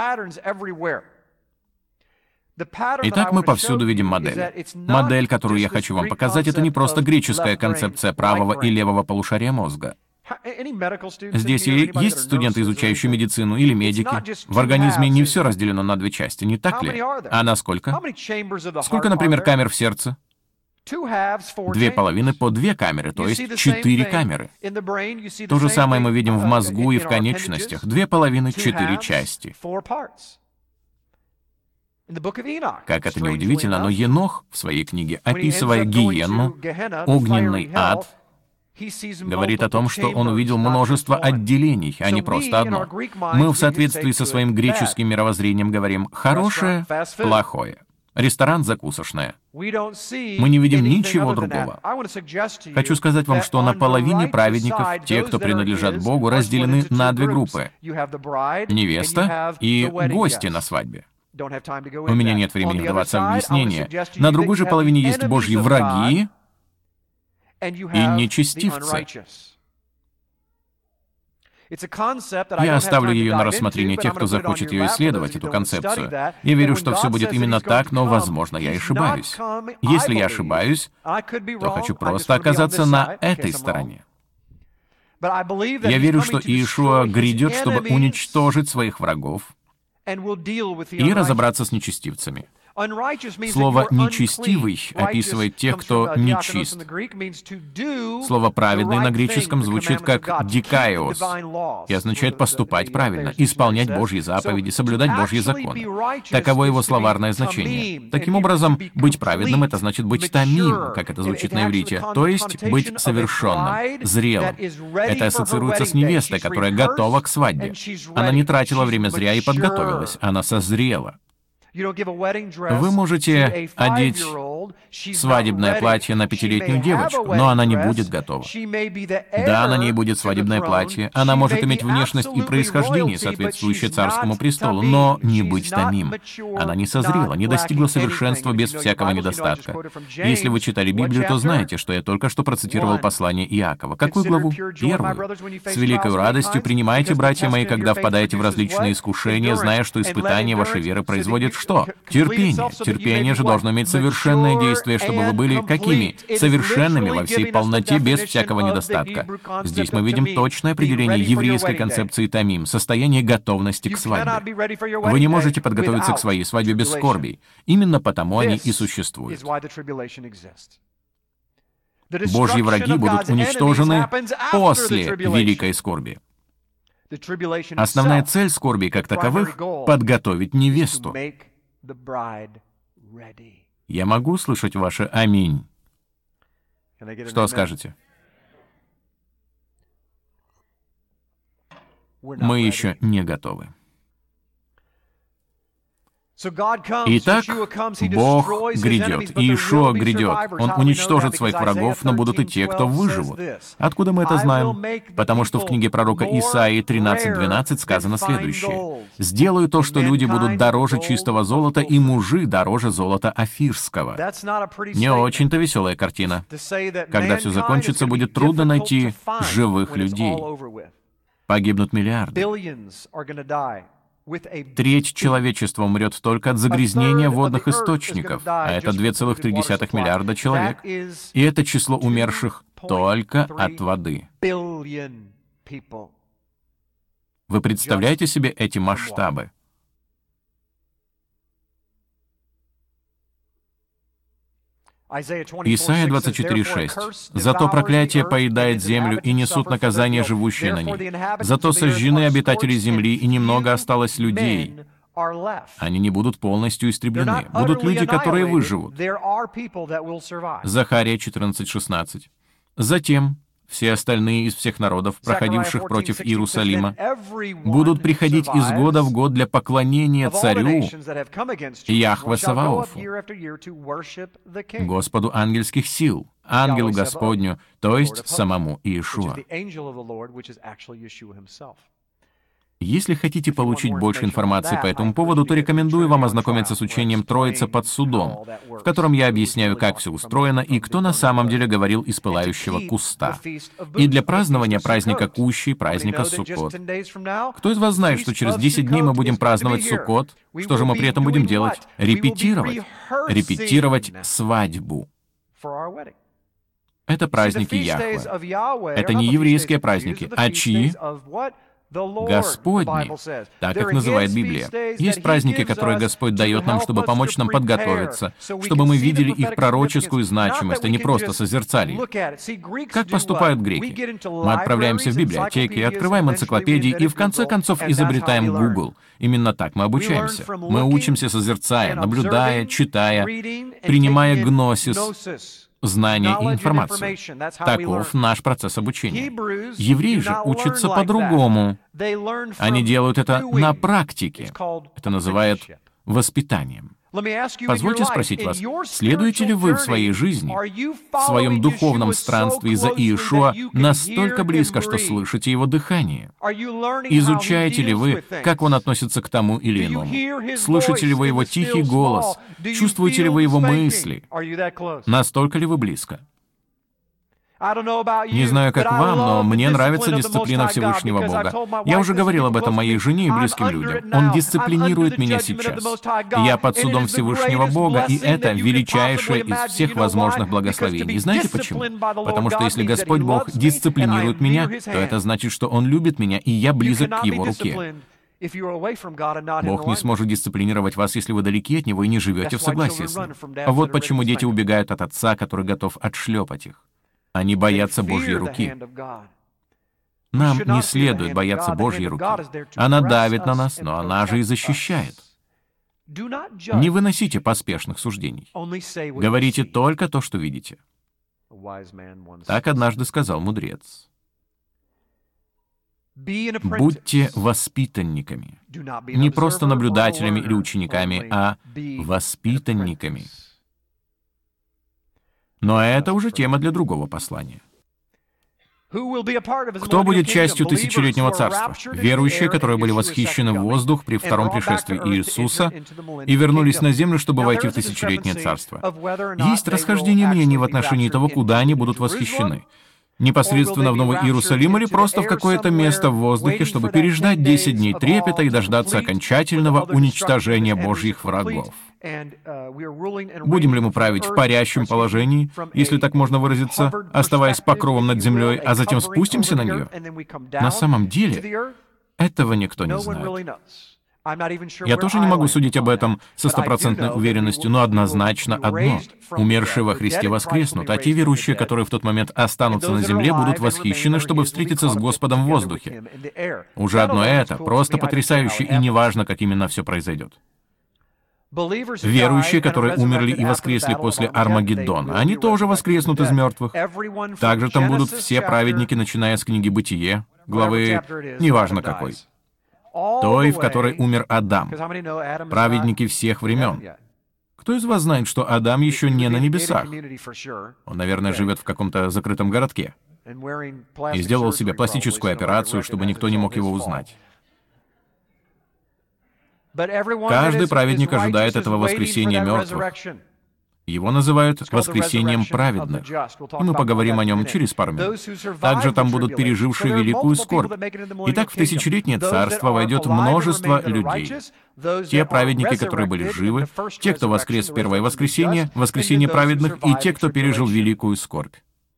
Итак, мы повсюду видим модель. Модель, которую я хочу вам показать, это не просто греческая концепция правого и левого полушария мозга. Здесь и есть студенты, изучающие медицину, или медики. В организме не все разделено на две части, не так ли? А на сколько? Сколько, например, камер в сердце? Две половины по две камеры, то есть четыре камеры. То же самое мы видим в мозгу и в конечностях. Две половины, четыре части. Как это ни удивительно, но Енох в своей книге, описывая гиенну, огненный ад, говорит о том, что он увидел множество отделений, а не просто одно. Мы в соответствии со своим греческим мировоззрением говорим «хорошее», «плохое». Ресторан закусочная. Мы не видим ничего другого. Хочу сказать вам, что на половине праведников, те, кто принадлежат Богу, разделены на две группы. Невеста и гости на свадьбе. У меня нет времени вдаваться в объяснение. На другой же половине есть Божьи враги и нечестивцы. Я оставлю ее на рассмотрение тех, кто захочет ее исследовать, эту концепцию. Я верю, что все будет именно так, но, возможно, я ошибаюсь. Если я ошибаюсь, то хочу просто оказаться на этой стороне. Я верю, что Иешуа грядет, чтобы уничтожить своих врагов и разобраться с нечестивцами. Слово «нечестивый» описывает тех, кто нечист. Слово «праведный» на греческом звучит как «дикаиос» и означает поступать правильно, исполнять Божьи заповеди, соблюдать Божьи законы. Таково его словарное значение. Таким образом, быть праведным — это значит быть тамим, как это звучит на иврите, то есть быть совершенным, зрелым. Это ассоциируется с невестой, которая готова к свадьбе. Она не тратила время зря и подготовилась, она созрела. Вы можете одеть свадебное платье на пятилетнюю девочку, но она не будет готова. Да, на ней будет свадебное платье, она может иметь внешность и происхождение, соответствующее царскому престолу, но не быть тамим. Она не созрела, не достигла совершенства без всякого недостатка. Если вы читали Библию, то знаете, что я только что процитировал послание Иакова. Какую главу? Первую. «С великой радостью принимайте, братья мои, когда впадаете в различные искушения, зная, что испытание вашей веры производит что? Терпение. Терпение же должно иметь совершенное действие, чтобы вы были какими? Совершенными во всей полноте, без всякого недостатка. Здесь мы видим точное определение еврейской концепции тамим — состояние готовности к свадьбе. Вы не можете подготовиться к своей свадьбе без скорбей. Именно потому они и существуют. Божьи враги будут уничтожены после великой скорби. Основная цель скорби как таковых — подготовить невесту. Я могу слышать ваше «Аминь». Что скажете? Мы еще не готовы. Итак, Бог грядет, Иешуа грядет. Он уничтожит своих врагов, но будут и те, кто выживут. Откуда мы это знаем? Потому что в книге пророка Исаии тринадцать двенадцать сказано следующее. «Сделаю то, что люди будут дороже чистого золота, и мужи дороже золота афирского». Не очень-то веселая картина. Когда все закончится, будет трудно найти живых людей. Погибнут миллиарды. Треть человечества умрет только от загрязнения водных источников, а это два целых три десятых миллиарда человек. И это число умерших только от воды. Вы представляете себе эти масштабы? Исайя двадцать четыре шесть. «Зато проклятие поедает землю, и несут наказание живущие на ней. Зато сожжены обитатели земли, и немного осталось людей. Они не будут полностью истреблены. Будут люди, которые выживут». Захария четырнадцать шестнадцать. «Затем все остальные из всех народов, проходивших против Иерусалима, будут приходить из года в год для поклонения царю Яхве Саваофу, Господу ангельских сил, ангелу Господню, то есть самому Иешуа». Если хотите получить больше информации по этому поводу, то рекомендую вам ознакомиться с учением «Троица под судом», в котором я объясняю, как все устроено и кто на самом деле говорил из пылающего куста. И для празднования праздника Кущи, праздника Суккот. Кто из вас знает, что через десять дней мы будем праздновать Суккот? Что же мы при этом будем делать? Репетировать. Репетировать свадьбу. Это праздники Яхве. Это не еврейские праздники, а чьи? Господни, так их называет Библия. Есть праздники, которые Господь дает нам, чтобы помочь нам подготовиться, чтобы мы видели их пророческую значимость, а не просто созерцали их. Как поступают греки? Мы отправляемся в библиотеки, открываем энциклопедии и в конце концов изобретаем Google. Именно так мы обучаемся. Мы учимся созерцая, наблюдая, читая, принимая гносис, знания и информацию. Таков наш процесс обучения. Евреи же учатся по-другому. Они делают это на практике. Это называют воспитанием. Позвольте спросить вас, следуете ли вы в своей жизни, в своем духовном странстве за Иешуа настолько близко, что слышите его дыхание? Изучаете ли вы, как он относится к тому или иному? Слышите ли вы его тихий голос? Чувствуете ли вы его мысли? Настолько ли вы близко? Не знаю, как вам, но мне нравится дисциплина Всевышнего Бога. Я уже говорил об этом моей жене и близким людям. Он дисциплинирует меня сейчас. Я под судом Всевышнего Бога, и это величайшее из всех возможных благословений. Знаете почему? Потому что если Господь Бог дисциплинирует меня, то это значит, что Он любит меня, и я близок к Его руке. Бог не сможет дисциплинировать вас, если вы далеки от Него и не живете в согласии с Ним. Вот почему дети убегают от отца, который готов отшлепать их. Они боятся Божьей руки. Нам не следует бояться Божьей руки. Она давит на нас, но она же и защищает. Не выносите поспешных суждений. Говорите только то, что видите. Так однажды сказал мудрец. Будьте воспитанниками. Не просто наблюдателями или учениками, а воспитанниками. Но это уже тема для другого послания. Кто будет частью тысячелетнего царства? Верующие, которые были восхищены в воздух при втором пришествии Иисуса и вернулись на землю, чтобы войти в тысячелетнее царство. Есть расхождение мнений в отношении того, куда они будут восхищены. непосредственно в Новый Иерусалим или просто в какое-то место в воздухе, чтобы переждать десять дней трепета и дождаться окончательного уничтожения Божьих врагов. Будем ли мы править в парящем положении, если так можно выразиться, оставаясь покровом над землей, а затем спустимся на нее? На самом деле, этого никто не знает. Я тоже не могу судить об этом со стопроцентной уверенностью, но однозначно одно. Умершие во Христе воскреснут, а те верующие, которые в тот момент останутся на земле, будут восхищены, чтобы встретиться с Господом в воздухе. Уже одно это просто потрясающе, и неважно, как именно все произойдет. Верующие, которые умерли и воскресли после Армагеддона, они тоже воскреснут из мертвых. Также там будут все праведники, начиная с книги «Бытие», главы, неважно какой, той, в которой умер Адам, праведники всех времен. Кто из вас знает, что Адам еще не на небесах? Он, наверное, живет в каком-то закрытом городке и сделал себе пластическую операцию, чтобы никто не мог его узнать. Каждый праведник ожидает этого воскресения мертвых. Его называют «воскресением праведных», и мы поговорим о нем через пару минут. Также там будут пережившие великую скорбь. Итак, в тысячелетнее царство войдет множество людей. Те праведники, которые были живы, те, кто воскрес в первое воскресенье, воскресение праведных, и те, кто пережил великую скорбь.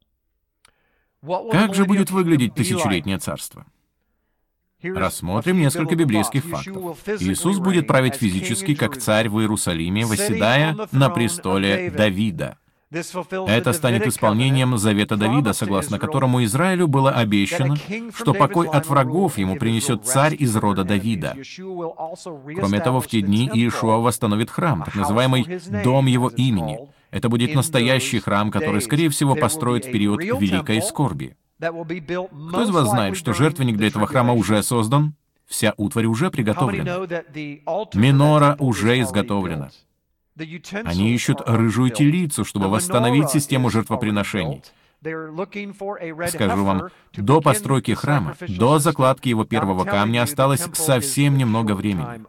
Как же будет выглядеть тысячелетнее царство? Рассмотрим несколько библейских фактов. Иисус будет править физически, как царь в Иерусалиме, восседая на престоле Давида. Это станет исполнением завета Давида, согласно которому Израилю было обещано, что покой от врагов ему принесет царь из рода Давида. Кроме того, в те дни Иешуа восстановит храм, так называемый «Дом его имени». Это будет настоящий храм, который, скорее всего, построят в период Великой скорби. Кто из вас знает, что жертвенник для этого храма уже создан? Вся утварь уже приготовлена. Минора уже изготовлена. Они ищут рыжую телицу, чтобы восстановить систему жертвоприношений. Скажу вам, до постройки храма, до закладки его первого камня осталось совсем немного времени.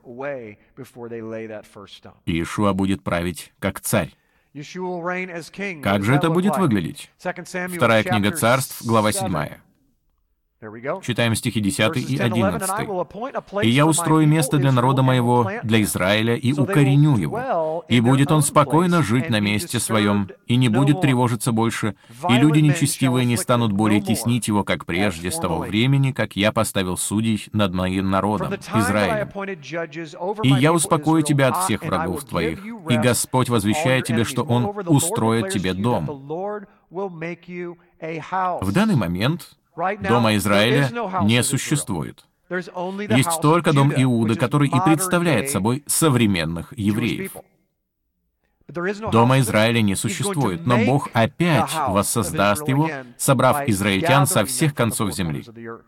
Иешуа будет править как царь. Как же это будет выглядеть? Вторая книга Царств, глава седьмая. Читаем стихи десятый и одиннадцатый. «И я устрою место для народа моего, для Израиля, и укореню его. И будет он спокойно жить на месте своем, и не будет тревожиться больше, и люди нечестивые не станут более теснить его, как прежде, с того времени, как я поставил судей над моим народом, Израилем. И я успокою тебя от всех врагов твоих, и Господь возвещает тебе, что Он устроит тебе дом». В данный момент Дома Израиля не существует. Есть только дом Иуды, который и представляет собой современных евреев. Дома Израиля не существует, но Бог опять воссоздаст его, собрав израильтян со всех концов земли.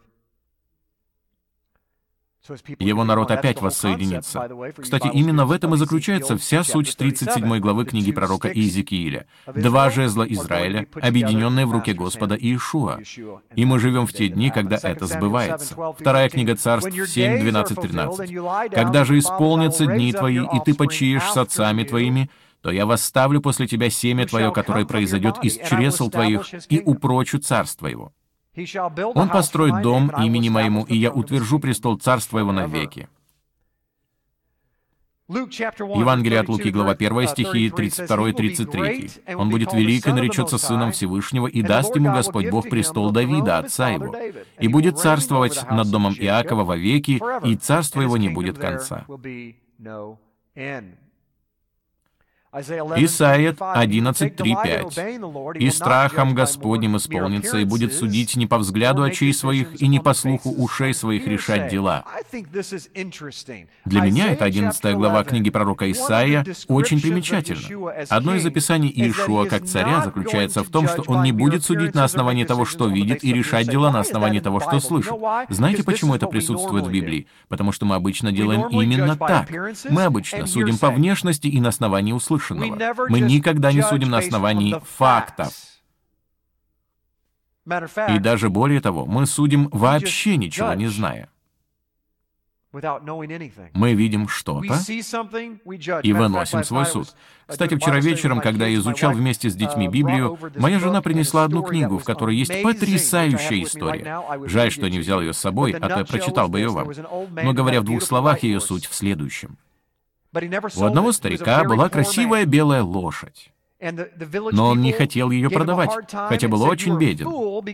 Его народ опять воссоединится. Кстати, именно в этом и заключается вся суть тридцать седьмой главы книги пророка Иезекииля. Два жезла Израиля, объединенные в руке Господа Иешуа. И мы живем в те дни, когда это сбывается. Вторая книга Царств семь, двенадцать, тринадцать. «Когда же исполнятся дни твои, и ты почиешь с отцами твоими, то я восставлю после тебя семя твое, которое произойдет из чресл твоих, и упрочу царство его. Он построит дом имени моему, и я утвержу престол царства его навеки». Евангелие от Луки, глава первая, стихи тридцать два и тридцать три. «Он будет велик и наречется сыном Всевышнего, и даст ему Господь Бог престол Давида, отца его, и будет царствовать над домом Иакова вовеки, и царство его не будет конца». Исайя одиннадцать, три, пять. «И страхом Господним исполнится, и будет судить не по взгляду очей своих, и не по слуху ушей своих решать дела». Для меня эта одиннадцатая глава книги пророка Исаия очень примечательна. Одно из описаний Иешуа как царя заключается в том, что он не будет судить на основании того, что видит, и решать дела на основании того, что слышит. Знаете, почему это присутствует в Библии? Потому что мы обычно делаем именно так. Мы обычно судим по внешности и на основании услышанного. Мы никогда не судим на основании фактов. И даже более того, мы судим вообще ничего не зная. Мы видим что-то и выносим свой суд. Кстати, вчера вечером, когда я изучал вместе с детьми Библию, моя жена принесла одну книгу, в которой есть потрясающая история. Жаль, что не взял ее с собой, а то я прочитал бы ее вам. Но, говоря в двух словах, ее суть в следующем. У одного старика была красивая белая лошадь, но он не хотел ее продавать, хотя был очень беден.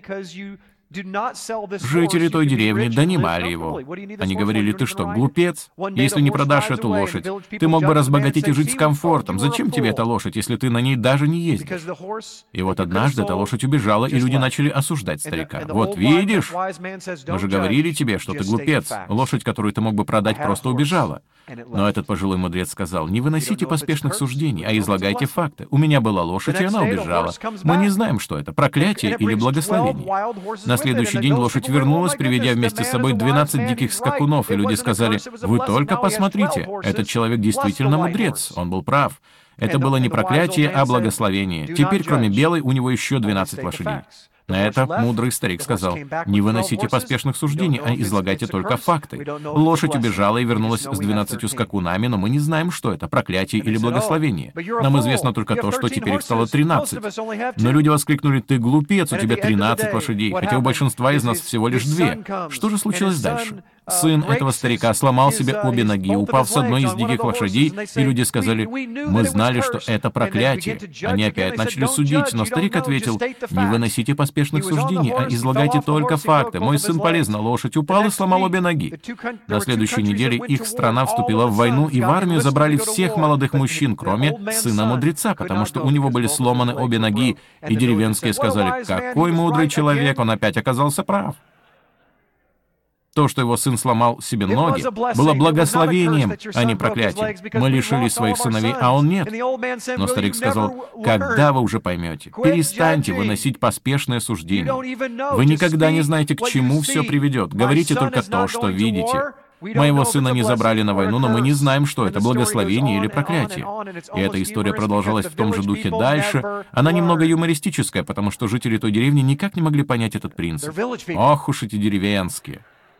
Жители той деревни донимали его. Они говорили: «Ты что, глупец? Если не продашь эту лошадь, ты мог бы разбогатеть и жить с комфортом. Зачем тебе эта лошадь, если ты на ней даже не ездишь?» И вот однажды эта лошадь убежала, и люди начали осуждать старика. «Вот видишь, мы же говорили тебе, что ты глупец. Лошадь, которую ты мог бы продать, просто убежала». Но этот пожилой мудрец сказал: «Не выносите поспешных суждений, а излагайте факты. У меня была лошадь, и она убежала. Мы не знаем, что это, проклятие или благословение». На следующий день лошадь вернулась, приведя вместе с собой двенадцать диких скакунов, и люди сказали: «Вы только посмотрите, этот человек действительно мудрец, он был прав. Это было не проклятие, а благословение. Теперь, кроме белой, у него еще двенадцать лошадей». На это мудрый старик сказал: «Не выносите поспешных суждений, а излагайте только факты. Лошадь убежала и вернулась с двенадцатью скакунами, но мы не знаем, что это, проклятие или благословение. Нам известно только то, что теперь их стало тринадцать». Но люди воскликнули: «Ты глупец, у тебя тринадцать лошадей, хотя у большинства из нас всего лишь две». Что же случилось дальше? Сын этого старика сломал себе обе ноги, упав с одной из диких лошадей, и люди сказали: «Мы знали, что это проклятие». Они опять начали судить, но старик ответил: «Не выносите поспешных суждений, а излагайте только факты. Мой сын полез на лошадь, упал и сломал обе ноги». На следующей неделе их страна вступила в войну, и в армию забрали всех молодых мужчин, кроме сына мудреца, потому что у него были сломаны обе ноги, и деревенские сказали: «Какой мудрый человек, он опять оказался прав». То, что его сын сломал себе ноги, было благословением, а не проклятием. Мы лишились своих сыновей, а он нет. Но старик сказал: «Когда вы уже поймете? Перестаньте выносить поспешное суждение. Вы никогда не знаете, к чему все приведет. Говорите только то, что видите. Моего сына не забрали на войну, но мы не знаем, что это, благословение или проклятие». И эта история продолжалась в том же духе дальше. Она немного юмористическая, потому что жители той деревни никак не могли понять этот принцип. Ох уж эти деревенские.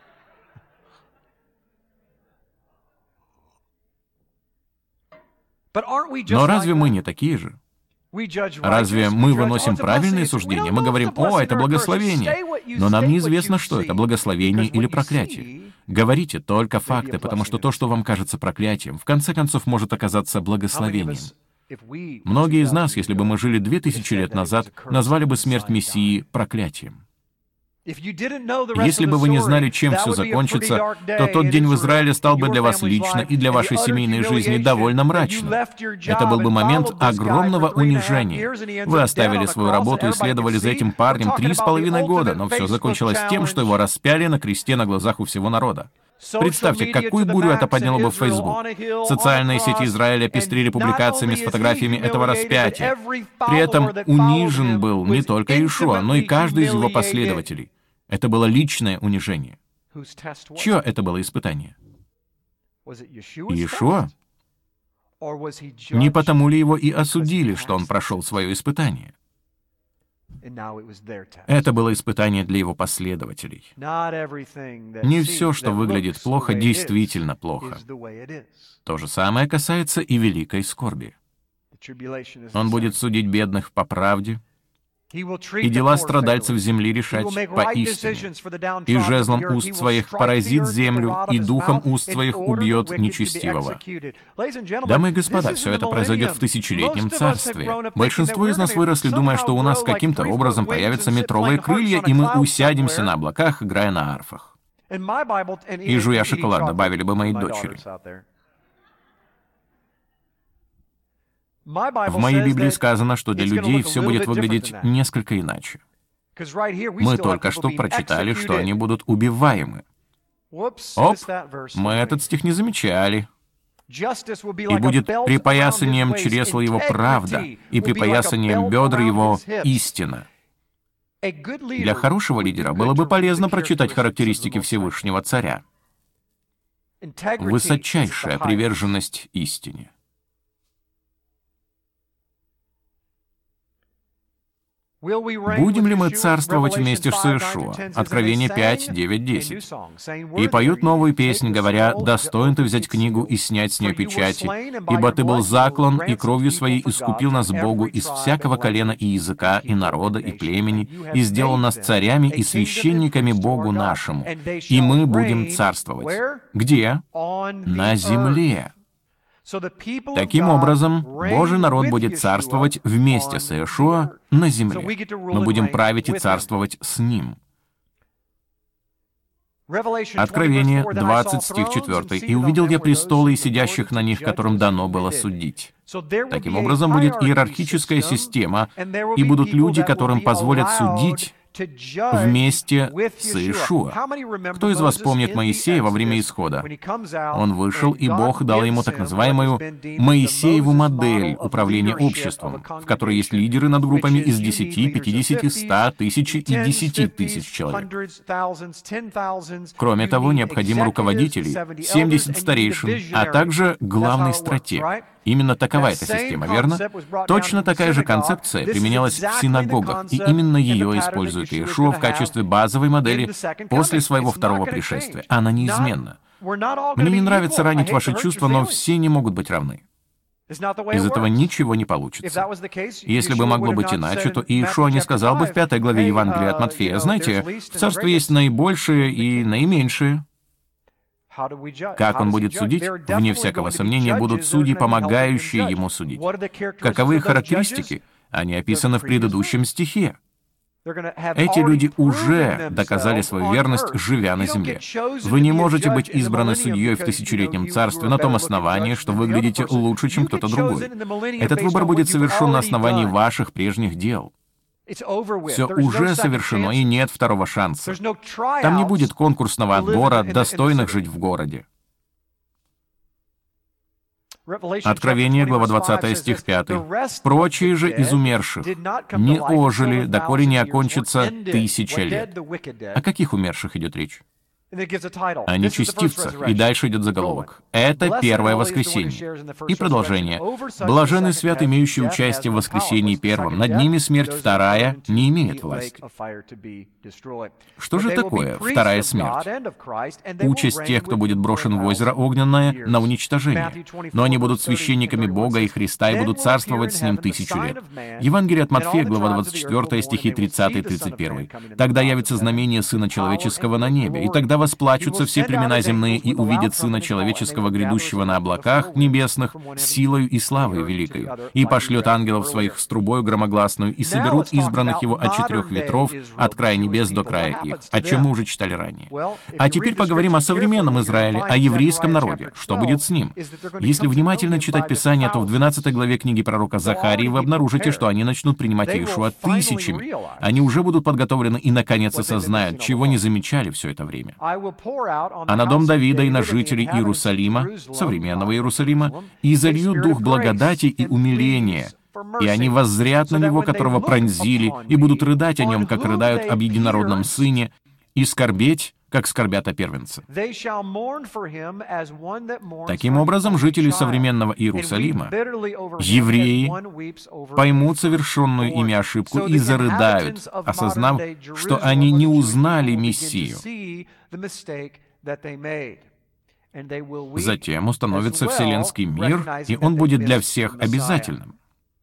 Но разве мы не такие же? Разве мы выносим правильные суждения? Мы говорим: «О, это благословение». Но нам неизвестно, что это, благословение или проклятие. Говорите только факты, потому что то, что вам кажется проклятием, в конце концов может оказаться благословением. Многие из нас, если бы мы жили две тысячи лет назад, назвали бы смерть Мессии проклятием. Если бы вы не знали, чем все закончится, то тот день в Израиле стал бы для вас лично и для вашей семейной жизни довольно мрачным. Это был бы момент огромного унижения. Вы оставили свою работу и следовали за этим парнем три с половиной года, но все закончилось тем, что его распяли на кресте на глазах у всего народа. Представьте, какую бурю это подняло бы в Facebook. Социальные сети Израиля пестрили публикациями с фотографиями этого распятия. При этом унижен был не только Иешуа, но и каждый из его последователей. Это было личное унижение. Чье это было испытание? Иешуа? Не потому ли его и осудили, что он прошел свое испытание? Это было испытание для его последователей. Не все, что выглядит плохо, действительно плохо. То же самое касается и великой скорби. Он будет судить бедных по правде, и дела страдальцев земли решать поистине. И жезлом уст своих поразит землю, и духом уст своих убьет нечестивого. Дамы и господа, все это произойдет в тысячелетнем царстве. Большинство из нас выросли, думая, что у нас каким-то образом появятся метровые крылья, и мы усядемся на облаках, играя на арфах. И жуя шоколад, добавили бы мои дочери. В моей Библии сказано, что для людей все будет выглядеть несколько иначе. Мы только что прочитали, что они будут убиваемы. Оп, мы этот стих не замечали. И будет припоясанием чресла его правда, и припоясанием бедр его истина. Для хорошего лидера было бы полезно прочитать характеристики Всевышнего Царя. Высочайшая приверженность истине. Будем ли мы царствовать вместе с Иешуа? Откровение пять, девять, десять. И поют новую песнь, говоря: «Достоин ты взять книгу и снять с нее печати, ибо ты был заклан, и кровью своей искупил нас Богу из всякого колена и языка, и народа, и племени, и сделал нас царями и священниками Богу нашему, и мы будем царствовать». Где? На земле. Таким образом, Божий народ будет царствовать вместе с Иешуа на земле. Мы будем править и царствовать с Ним. Откровение двадцать, стих четвёртый. «И увидел я престолы и сидящих на них, которым дано было судить». Таким образом, будет иерархическая система, и будут люди, которым позволят судить вместе с Иешуа. Кто из вас помнит Моисея во время Исхода? Он вышел, и Бог дал ему так называемую Моисееву модель управления обществом, в которой есть лидеры над группами из десяти, пятидесяти, ста, тысячи и десяти тысяч человек. Кроме того, необходимы руководители, семьдесят старейшин, а также главный стратег. Именно такова эта система, верно? Точно такая же концепция применялась в синагогах, и именно ее использует Иешуа в качестве базовой модели после своего второго пришествия. Она неизменна. Мне не нравится ранить ваши чувства, но все не могут быть равны. Из этого ничего не получится. Если бы могло быть иначе, то Иешуа не сказал бы в пятой главе Евангелия от Матфея: «Знаете, в царстве есть наибольшие и наименьшие». Как он будет судить? Вне всякого сомнения, будут судьи, помогающие ему судить. Каковы их характеристики? Они описаны в предыдущем стихе. Эти люди уже доказали свою верность, живя на земле. Вы не можете быть избраны судьей в тысячелетнем царстве на том основании, что выглядите лучше, чем кто-то другой. Этот выбор будет совершен на основании ваших прежних дел. Все уже совершено, и нет второго шанса. Там не будет конкурсного отбора достойных жить в городе. Откровение, глава двадцатая, стих пятый. «Прочие же из умерших не ожили, доколе не окончится тысяча лет». О каких умерших идет речь? О нечестивцах. И дальше идет заголовок. Это первое воскресенье. И продолжение. «Блаженны свят, имеющие участие в воскресении первом. Над ними смерть вторая не имеет власти». Что же такое вторая смерть? Участь тех, кто будет брошен в озеро огненное, на уничтожение. Но они будут священниками Бога и Христа и будут царствовать с Ним тысячу лет. Евангелие от Матфея, глава двадцать четвёртая, стихи тридцатый и тридцать первый. «Тогда явится знамение Сына Человеческого на небе, и тогда восплачутся все племена земные и увидят Сына Человеческого, грядущего на облаках небесных, с силою и славой великой, и пошлет ангелов своих с трубою громогласную, и соберут избранных Его от четырех ветров, от края небес до края их», о чем мы уже читали ранее. А теперь поговорим о современном Израиле, о еврейском народе. Что будет с ним? Если внимательно читать Писание, то в двенадцатой главе книги пророка Захарии вы обнаружите, что они начнут принимать Иешуа тысячами. Они уже будут подготовлены и, наконец, осознают, чего не замечали все это время. А на дом Давида и на жителей Иерусалима, современного Иерусалима, и залью дух благодати и умиления, и они воззрят на него, которого пронзили, и будут рыдать о нем, как рыдают об единородном сыне, и скорбеть, как скорбят о первенце. Таким образом, жители современного Иерусалима, евреи, поймут совершенную ими ошибку и зарыдают, осознав, что они не узнали Мессию. Затем установится вселенский мир, и он будет для всех обязательным.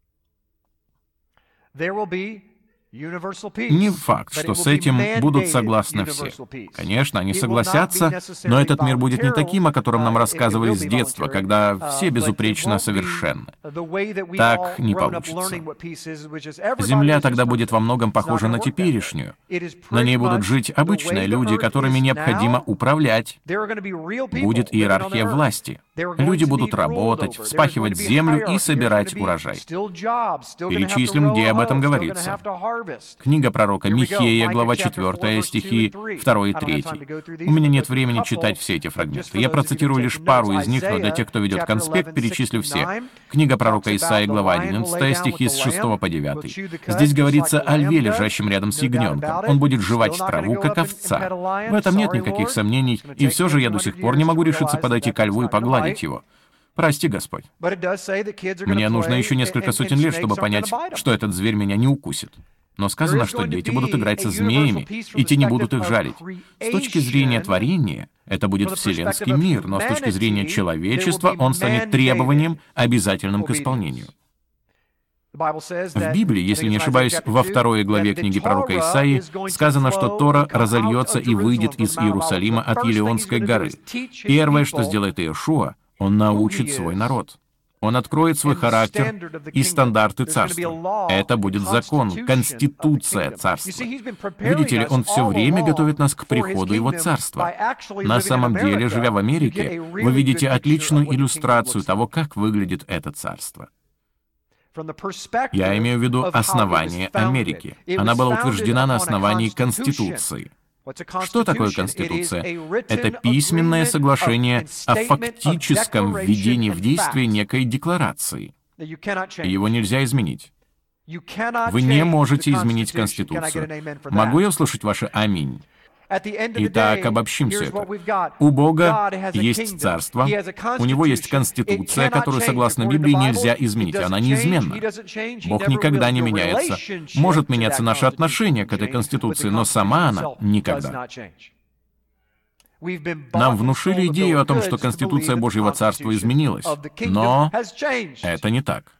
Не факт, что с этим будут согласны все. Конечно, они согласятся, но этот мир будет не таким, о котором нам рассказывали с детства, когда все безупречно совершенны. Так не получится. Земля тогда будет во многом похожа на теперешнюю. На ней будут жить обычные люди, которыми необходимо управлять. Будет иерархия власти. Люди будут работать, вспахивать землю и собирать урожай. Перечислим, где об этом говорится. Книга пророка Михея, глава четвёртая, стихи второй и третий. У меня нет времени читать все эти фрагменты. Я процитирую лишь пару из них, но для тех, кто ведет конспект, перечислю все. Книга пророка Исаии, глава одиннадцатая, стихи с шестого по девятый. Здесь говорится о льве, лежащем рядом с ягненком. Он будет жевать траву, как овца. В этом нет никаких сомнений, и все же я до сих пор не могу решиться подойти ко льву и погладить его. Прости, Господь. Мне нужно еще несколько сотен лет, чтобы понять, что этот зверь меня не укусит. Но сказано, что дети будут играть со змеями, и те не будут их жалить. С точки зрения творения, это будет вселенский мир, но с точки зрения человечества он станет требованием, обязательным к исполнению. В Библии, если не ошибаюсь, во второй главе книги пророка Исаии сказано, что Тора разольется и выйдет из Иерусалима от Елеонской горы. Первое, что сделает Иешуа, он научит свой народ. Он откроет свой характер и стандарты царства. Это будет закон, конституция царства. Видите ли, он все время готовит нас к приходу его царства. На самом деле, живя в Америке, вы видите отличную иллюстрацию того, как выглядит это царство. Я имею в виду основание Америки. Она была утверждена на основании Конституции. Что такое Конституция? Это письменное соглашение о фактическом введении в действие некой декларации. Его нельзя изменить. Вы не можете изменить Конституцию. Могу я услышать ваше «Аминь»? Итак, обобщим все это. У Бога есть царство, у Него есть Конституция, которую, согласно Библии, нельзя изменить, она неизменна. Бог никогда не меняется. Может меняться наше отношение к этой Конституции, но сама она никогда. Нам внушили идею о том, что Конституция Божьего Царства изменилась, но это не так.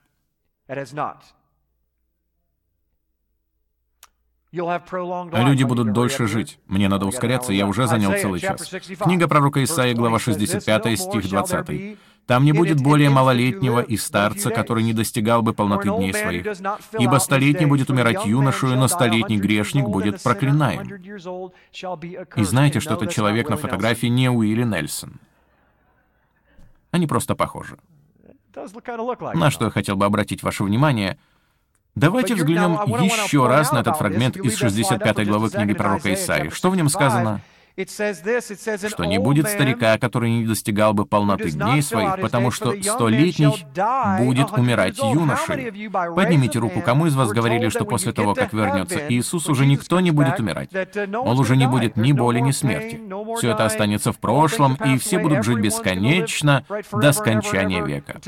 Люди будут дольше жить. Мне надо ускоряться, я уже занял целый час. Книга пророка Исаии, глава шестьдесят пять, стих двадцатый. «Там не будет более малолетнего и старца, который не достигал бы полноты дней своих. Ибо столетний будет умирать юношею, но столетний грешник будет проклинаем». И знаете, что этот человек на фотографии не Уилли Нельсон. Они просто похожи. На что я хотел бы обратить ваше внимание — давайте взглянем еще раз на этот фрагмент из шестьдесят пятой главы книги пророка Исаии. Что в нем сказано? Что не будет старика, который не достигал бы полноты дней своих, потому что столетний будет умирать юношей. Поднимите руку, кому из вас говорили, что после того, как вернется Иисус, уже никто не будет умирать. Он уже не будет ни боли, ни смерти. Все это останется в прошлом, и все будут жить бесконечно до скончания века.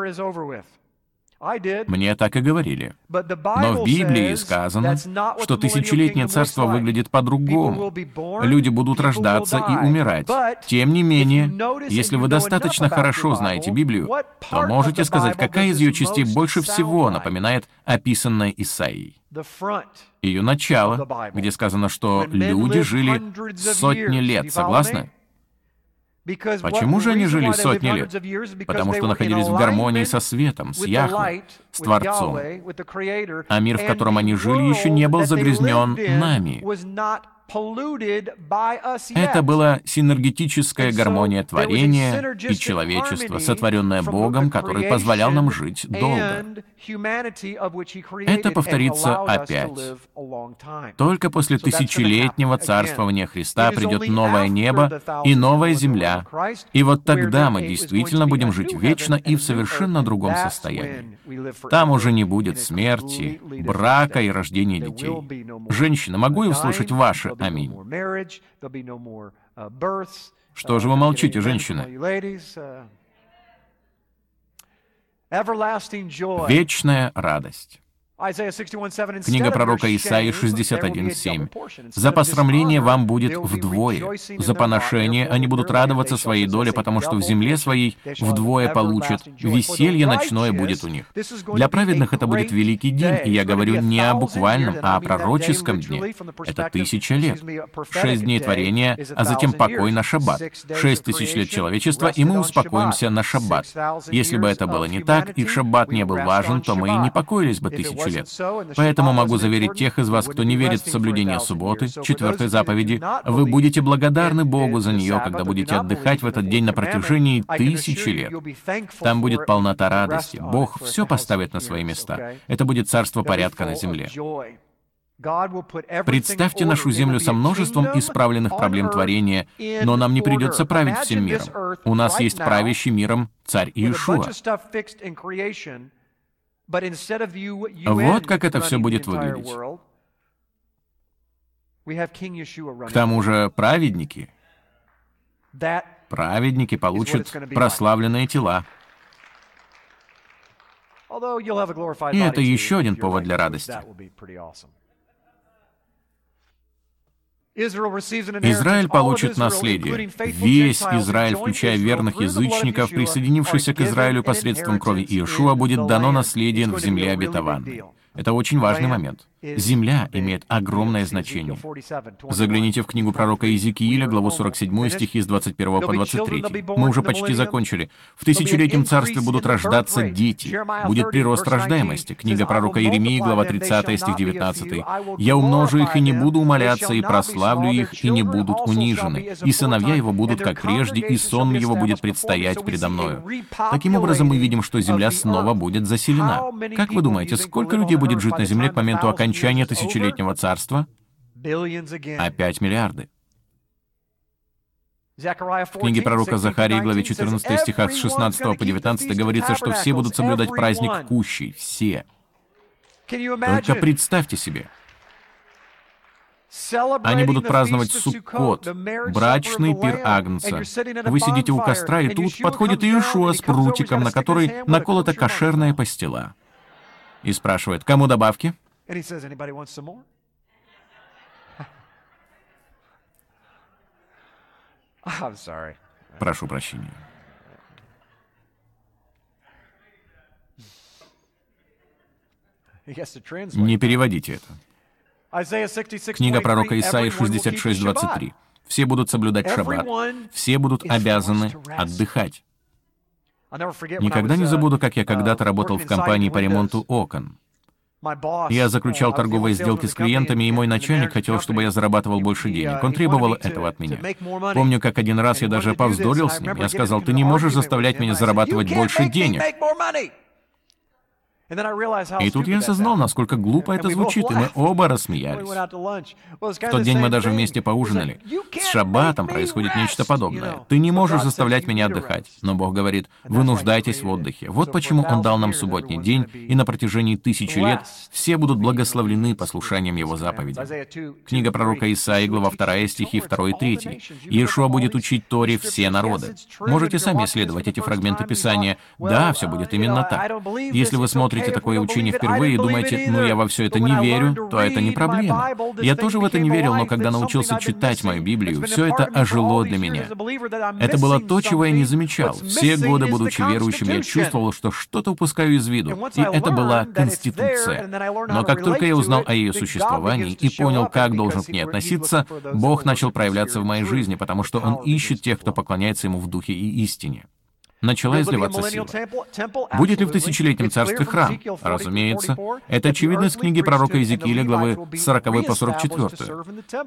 Мне так и говорили. Но в Библии сказано, что тысячелетнее царство выглядит по-другому. Люди будут рождаться и умирать. Тем не менее, если вы достаточно хорошо знаете Библию, то можете сказать, какая из ее частей больше всего напоминает описанное Исаией. Ее начало, где сказано, что люди жили сотни лет. Согласны? Почему же они жили сотни лет? Потому что находились в гармонии со светом, с Яхве, с Творцом. А мир, в котором они жили, еще не был загрязнен нами. Это была синергетическая гармония творения и человечества, сотворенная Богом, который позволял нам жить долго. Это повторится опять. Только после тысячелетнего царствования Христа придет новое небо и новая земля, и вот тогда мы действительно будем жить вечно и в совершенно другом состоянии. Там уже не будет смерти, брака и рождения детей. Женщины, могу я услышать ваше «Аминь»? Что же вы молчите, женщины? Вечная радость. Книга пророка Исаии шестьдесят один семь. «За посрамление вам будет вдвое, за поношение они будут радоваться своей доле, потому что в земле своей вдвое получат, веселье ночное будет у них». Для праведных это будет великий день, и я говорю не о буквальном, а о пророческом дне. Это тысяча лет. Шесть дней творения, а затем покой на шаббат. Шесть тысяч лет человечества, и мы успокоимся на шаббат. Если бы это было не так, и шаббат не был важен, то мы и не покоились бы тысячу лет. Поэтому могу заверить тех из вас, кто не верит в соблюдение субботы, четвертой заповеди, вы будете благодарны Богу за нее, когда будете отдыхать в этот день на протяжении тысячи лет. Там будет полнота радости. Бог все поставит на свои места. Это будет царство порядка на земле. Представьте нашу землю со множеством исправленных проблем творения, но нам не придется править всем миром. У нас есть правящий миром царь Иешуа. Вот как это все будет выглядеть. К тому же праведники, праведники получат прославленные тела. И это еще один повод для радости. Израиль получит наследие. Весь Израиль, включая верных язычников, присоединившихся к Израилю посредством крови Иешуа, будет дано наследие в земле обетованной. Это очень важный момент. Земля имеет огромное значение. Загляните в книгу пророка Иезекииля, главу сорок семь, стихи с двадцать первого по двадцать третий. Мы уже почти закончили. «В тысячелетнем царстве будут рождаться дети. Будет прирост рождаемости». Книга пророка Иеремии, глава тридцатая, стих девятнадцатый. «Я умножу их и не буду умоляться, и прославлю их, и не будут унижены. И сыновья его будут как прежде, и сон его будет предстоять предо мною». Таким образом, мы видим, что земля снова будет заселена. Как вы думаете, сколько людей будет жить на земле к моменту окончания тысячелетнего царства? Опять миллиарды. В книге пророка Захарии, главе четырнадцатой, стихах с шестнадцатого по девятнадцатый говорится, что все будут соблюдать праздник Кущей. Все. Только представьте себе. Они будут праздновать Суккот, брачный пир Агнца. Вы сидите у костра, и тут подходит Иешуа с прутиком, на который наколота кошерная пастила. И спрашивает, кому добавки? Прошу прощения. Не переводите это. Книга пророка Исаии шестьдесят шесть, двадцать три. Все будут соблюдать шаббат. Все будут обязаны отдыхать. Никогда не забуду, как я когда-то работал в компании по ремонту окон. Я заключал торговые сделки с клиентами, и мой начальник хотел, чтобы я зарабатывал больше денег. Он требовал этого от меня. Помню, как один раз я даже повздорил с ним. Я сказал, ты не можешь заставлять меня зарабатывать больше денег. И тут я осознал, насколько глупо это звучит, и мы оба рассмеялись. В тот день мы даже вместе поужинали. С шаббатом происходит нечто подобное. Ты не можешь заставлять меня отдыхать. Но Бог говорит, вы нуждаетесь в отдыхе. Вот почему Он дал нам субботний день, и на протяжении тысячи лет все будут благословлены послушанием Его заповедей. Книга пророка Исаии, глава вторая, стихи второй и третий. Иешуа будет учить Торе все народы. Можете сами исследовать эти фрагменты Писания. Да, все будет именно так. Если вы смотрите такое учение впервые и думаете, ну я во все это не верю, то это не проблема. Я тоже в это не верил, но когда научился читать мою Библию, все это ожило для меня. Это было то, чего я не замечал. Все годы, будучи верующим, я чувствовал, что что-то упускаю из виду. И это была Конституция. Но как только я узнал о ее существовании и понял, как должен к ней относиться, Бог начал проявляться в моей жизни, потому что Он ищет тех, кто поклоняется Ему в духе и истине. Начала изливаться сила. Будет ли в тысячелетнем царстве храм? Разумеется. Это очевидно из книги пророка Иезекииля, главы сороковой по сорок четвёртую.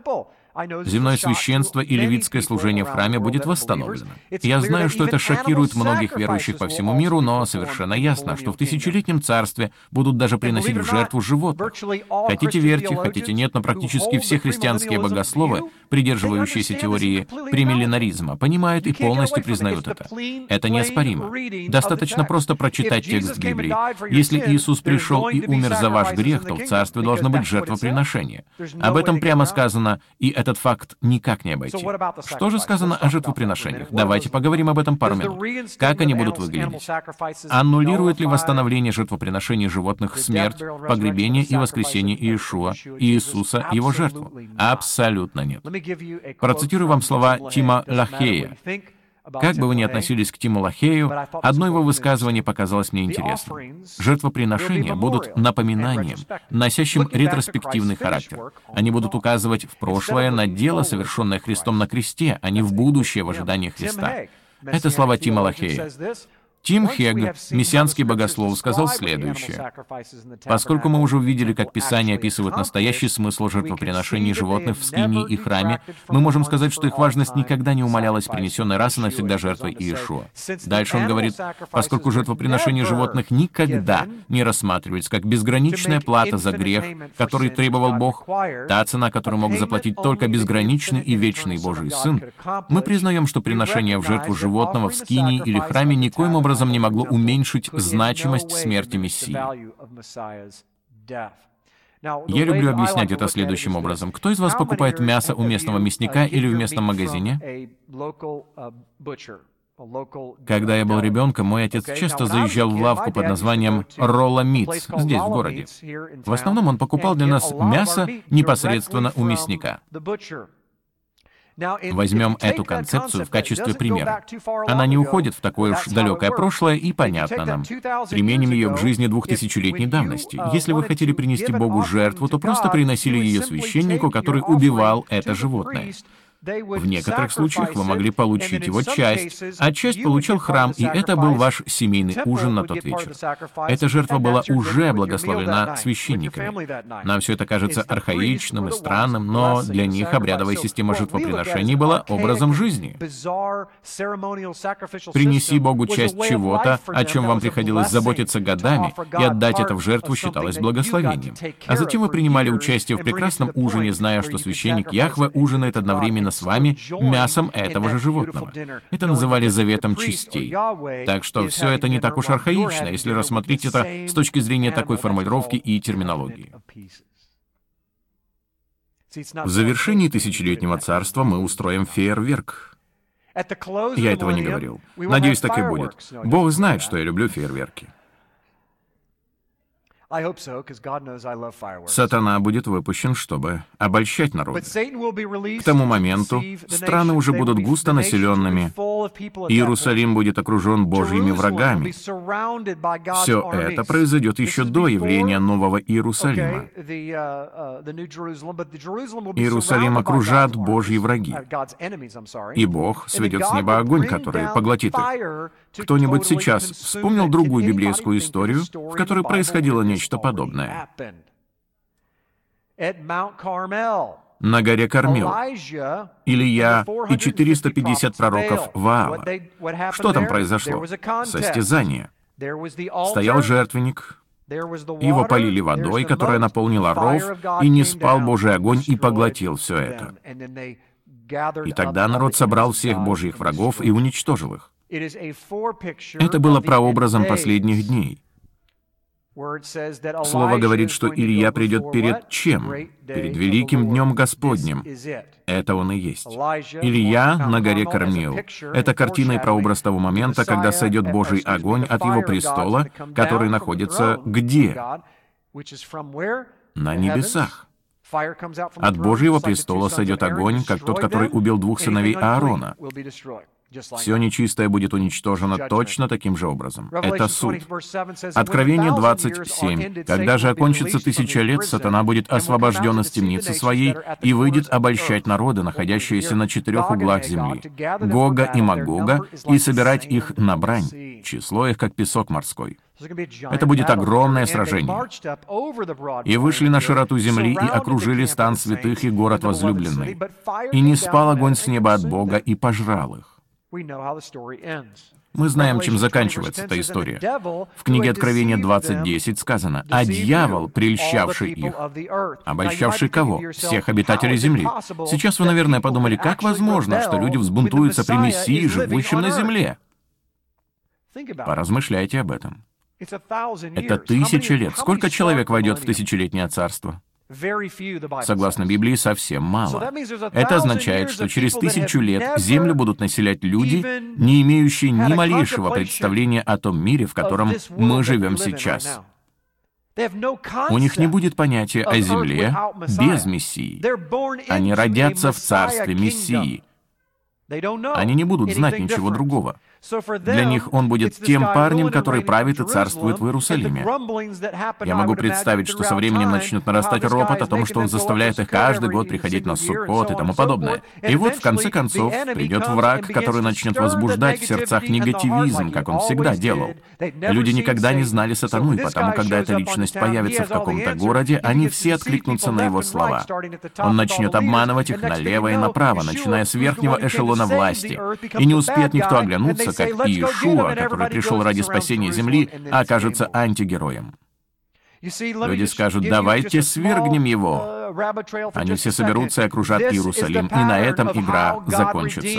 Земное священство и левитское служение в храме будет восстановлено. Я знаю, что это шокирует многих верующих по всему миру, но совершенно ясно, что в тысячелетнем царстве будут даже приносить в жертву животных. Хотите верьте, хотите нет, но практически все христианские богословы, придерживающиеся теории премилленаризма, понимают и полностью признают это. Это неоспоримо. Достаточно просто прочитать текст Библии. Если Иисус пришел и умер за ваш грех, то в царстве должно быть жертвоприношение. Об этом прямо сказано, и этот факт никак не обойти. Что же сказано о жертвоприношениях? Давайте поговорим об этом пару минут. Как они будут выглядеть? Аннулирует ли восстановление жертвоприношений животных смерть, погребение и воскресение Иешуа, Иисуса, Его жертву? Абсолютно нет. Процитирую вам слова Тима Лахея. Как бы вы ни относились к Тиму Лахею, одно его высказывание показалось мне интересным. Жертвоприношения будут напоминанием, носящим ретроспективный характер. Они будут указывать в прошлое на дело, совершенное Христом на кресте, а не в будущее в ожидании Христа. Это слова Тима Лахея. Тим Хегг, мессианский богослов, сказал следующее. Поскольку мы уже увидели, как Писание описывает настоящий смысл жертвоприношений животных в скинии и храме, мы можем сказать, что их важность никогда не умалялась принесенной раз и навсегда жертвой Иешуа. Дальше он говорит, поскольку жертвоприношения животных никогда не рассматривались как безграничная плата за грех, который требовал Бог, та цена, которую мог заплатить только безграничный и вечный Божий Сын, мы признаем, что приношение в жертву животного в скинии или храме никоим образом не могло уменьшить значимость смерти Мессии. Я люблю объяснять это следующим образом. Кто из вас покупает мясо у местного мясника или в местном магазине? Когда я был ребенком, мой отец часто заезжал в лавку под названием Rolla Meats здесь, в городе. В основном он покупал для нас мясо непосредственно у мясника. Возьмем эту концепцию в качестве примера. Она не уходит в такое уж далекое прошлое и понятно нам. Применим ее к жизни двухтысячелетней давности. Если вы хотели принести Богу жертву, то просто приносили ее священнику, который убивал это животное. В некоторых случаях вы могли получить его часть, а часть получил храм, и это был ваш семейный ужин на тот вечер. Эта жертва была уже благословена священниками. Нам все это кажется архаичным и странным, но для них обрядовая система жертвоприношений была образом жизни. Принеси Богу часть чего-то, о чем вам приходилось заботиться годами, и отдать это в жертву считалось благословением. А затем вы принимали участие в прекрасном ужине, зная, что священник Яхве ужинает одновременно с вами мясом этого же животного. Это называли заветом частей. Так что все это не так уж архаично, если рассмотреть это с точки зрения такой формулировки и терминологии. В завершении тысячелетнего царства мы устроим фейерверк. Я этого не говорил. Надеюсь, так и будет. Бог знает, что я люблю фейерверки. Сатана будет выпущен, чтобы обольщать народ. К тому моменту страны уже будут густо населенными, Иерусалим будет окружен Божьими врагами. Все это произойдет еще до явления Нового Иерусалима. Иерусалим окружат Божьи враги, и Бог сведет с неба огонь, который поглотит их. Кто-нибудь сейчас вспомнил другую библейскую историю, в которой происходило нечто подобное? На горе Кармел. Илья и четыреста пятьдесят пророков Ваала. Что там произошло? Состязание. Стоял жертвенник, его полили водой, которая наполнила ров, и ниспал Божий огонь и поглотил все это. И тогда народ собрал всех Божьих врагов и уничтожил их. Это было прообразом последних дней. Слово говорит, что Илья придет перед чем? Перед великим днем Господним. Это он и есть. Илья на горе Кармел. Это картина и прообраз того момента, когда сойдет Божий огонь от его престола, который находится где? На небесах. От Божьего престола сойдет огонь, как тот, который убил двух сыновей Аарона. Все нечистое будет уничтожено точно таким же образом. Это суд. Откровение двадцать семь. Когда же окончится тысяча лет, сатана будет освобожден из темницы своей и выйдет обольщать народы, находящиеся на четырех углах земли, Гога и Магога, и собирать их на брань, число их, как песок морской. Это будет огромное сражение. «И вышли на широту земли, и окружили стан святых и город возлюбленный. И не спал огонь с неба от Бога, и пожрал их». Мы знаем, чем заканчивается эта история. В книге Откровения двадцать десять сказано: «А дьявол, прельщавший их». Обольщавший кого? Всех обитателей земли. Сейчас вы, наверное, подумали, как возможно, что люди взбунтуются при Мессии, живущем на земле? Поразмышляйте об этом. Это тысяча лет. Сколько человек войдет в тысячелетнее царство? Согласно Библии, совсем мало. Это означает, что через тысячу лет землю будут населять люди, не имеющие ни малейшего представления о том мире, в котором мы живем сейчас. У них не будет понятия о земле без Мессии. Они родятся в царстве Мессии. Они не будут знать ничего другого. Для них он будет тем парнем, который правит и царствует в Иерусалиме. Я могу представить, что со временем начнет нарастать ропот о том, что он заставляет их каждый год приходить на Суккот и тому подобное. И вот, в конце концов, придет враг, который начнет возбуждать в сердцах негативизм, как он всегда делал. Люди никогда не знали сатану, и потому, когда эта личность появится в каком-то городе, они все откликнутся на его слова. Он начнет обманывать их налево и направо, начиная с верхнего эшелона власти. И не успеет никто оглянуться, как Иешуа, который пришел ради спасения земли, окажется антигероем. Люди скажут: «Давайте свергнем его». Они все соберутся и окружат Иерусалим, и на этом игра закончится.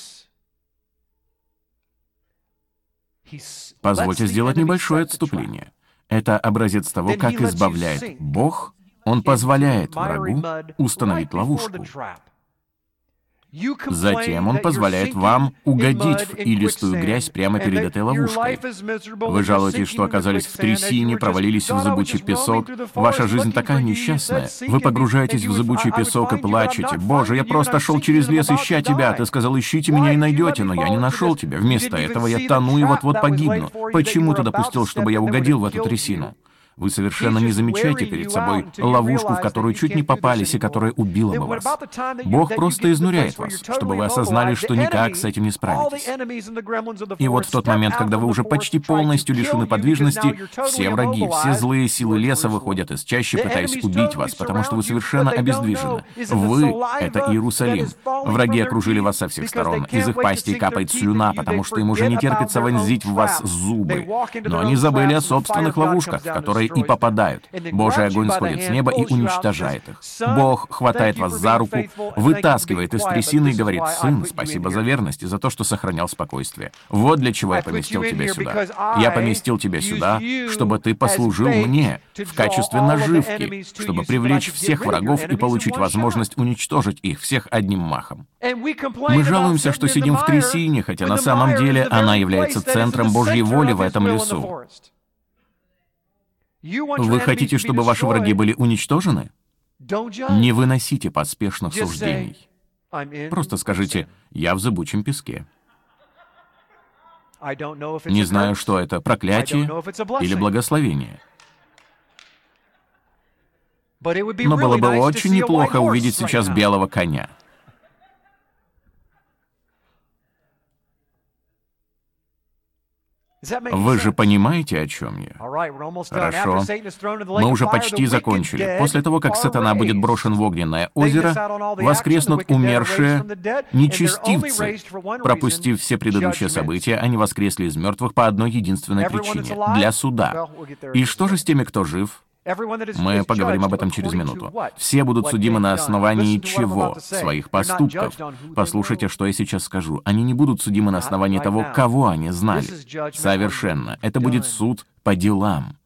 Позвольте сделать небольшое отступление. Это образец того, как избавляет Бог. Он позволяет врагу установить ловушку. Затем он позволяет вам угодить в илистую грязь прямо перед этой ловушкой. Вы жалуетесь, что оказались в трясине, провалились в зыбучий песок. Ваша жизнь такая несчастная. Вы погружаетесь в зыбучий песок и плачете. «Боже, я просто шел через лес, ища тебя. Ты сказал, ищите меня и найдете, но я не нашел тебя. Вместо этого я тону и вот-вот погибну. Почему ты допустил, чтобы я угодил в эту трясину?» Вы совершенно не замечаете перед собой ловушку, в которую чуть не попались и которая убила бы вас. Бог просто изнуряет вас, чтобы вы осознали, что никак с этим не справитесь. И вот в тот момент, когда вы уже почти полностью лишены подвижности, все враги, все злые силы леса выходят из чащи, пытаясь убить вас, потому что вы совершенно обездвижены. Вы — это Иерусалим. Враги окружили вас со всех сторон. Из их пастей капает слюна, потому что им уже не терпится вонзить в вас зубы. Но они забыли о собственных ловушках, в которые и попадают. Божий огонь сходит с неба и уничтожает их. Бог хватает вас за руку, вытаскивает из трясины и говорит: «Сын, спасибо за верность и за то, что сохранял спокойствие. Вот для чего я поместил тебя сюда. Я поместил тебя сюда, чтобы ты послужил мне в качестве наживки, чтобы привлечь всех врагов и получить возможность уничтожить их всех одним махом». Мы жалуемся, что сидим в трясине, хотя на самом деле она является центром Божьей воли в этом лесу. Вы хотите, чтобы ваши враги были уничтожены? Не выносите поспешных суждений. Просто скажите: «Я в зыбучем песке». Не знаю, что это, проклятие или благословение. Но было бы очень неплохо увидеть сейчас белого коня. Вы же понимаете, о чем я? Хорошо. Мы уже почти закончили. После того, как сатана будет брошен в огненное озеро, воскреснут умершие нечестивцы. Пропустив все предыдущие события, они воскресли из мертвых по одной единственной причине — для суда. И что же с теми, кто жив? Мы поговорим об этом через минуту. Все будут судимы на основании чего? Своих поступков. Послушайте, что я сейчас скажу. Они не будут судимы на основании того, кого они знали. Совершенно. Это будет суд по делам.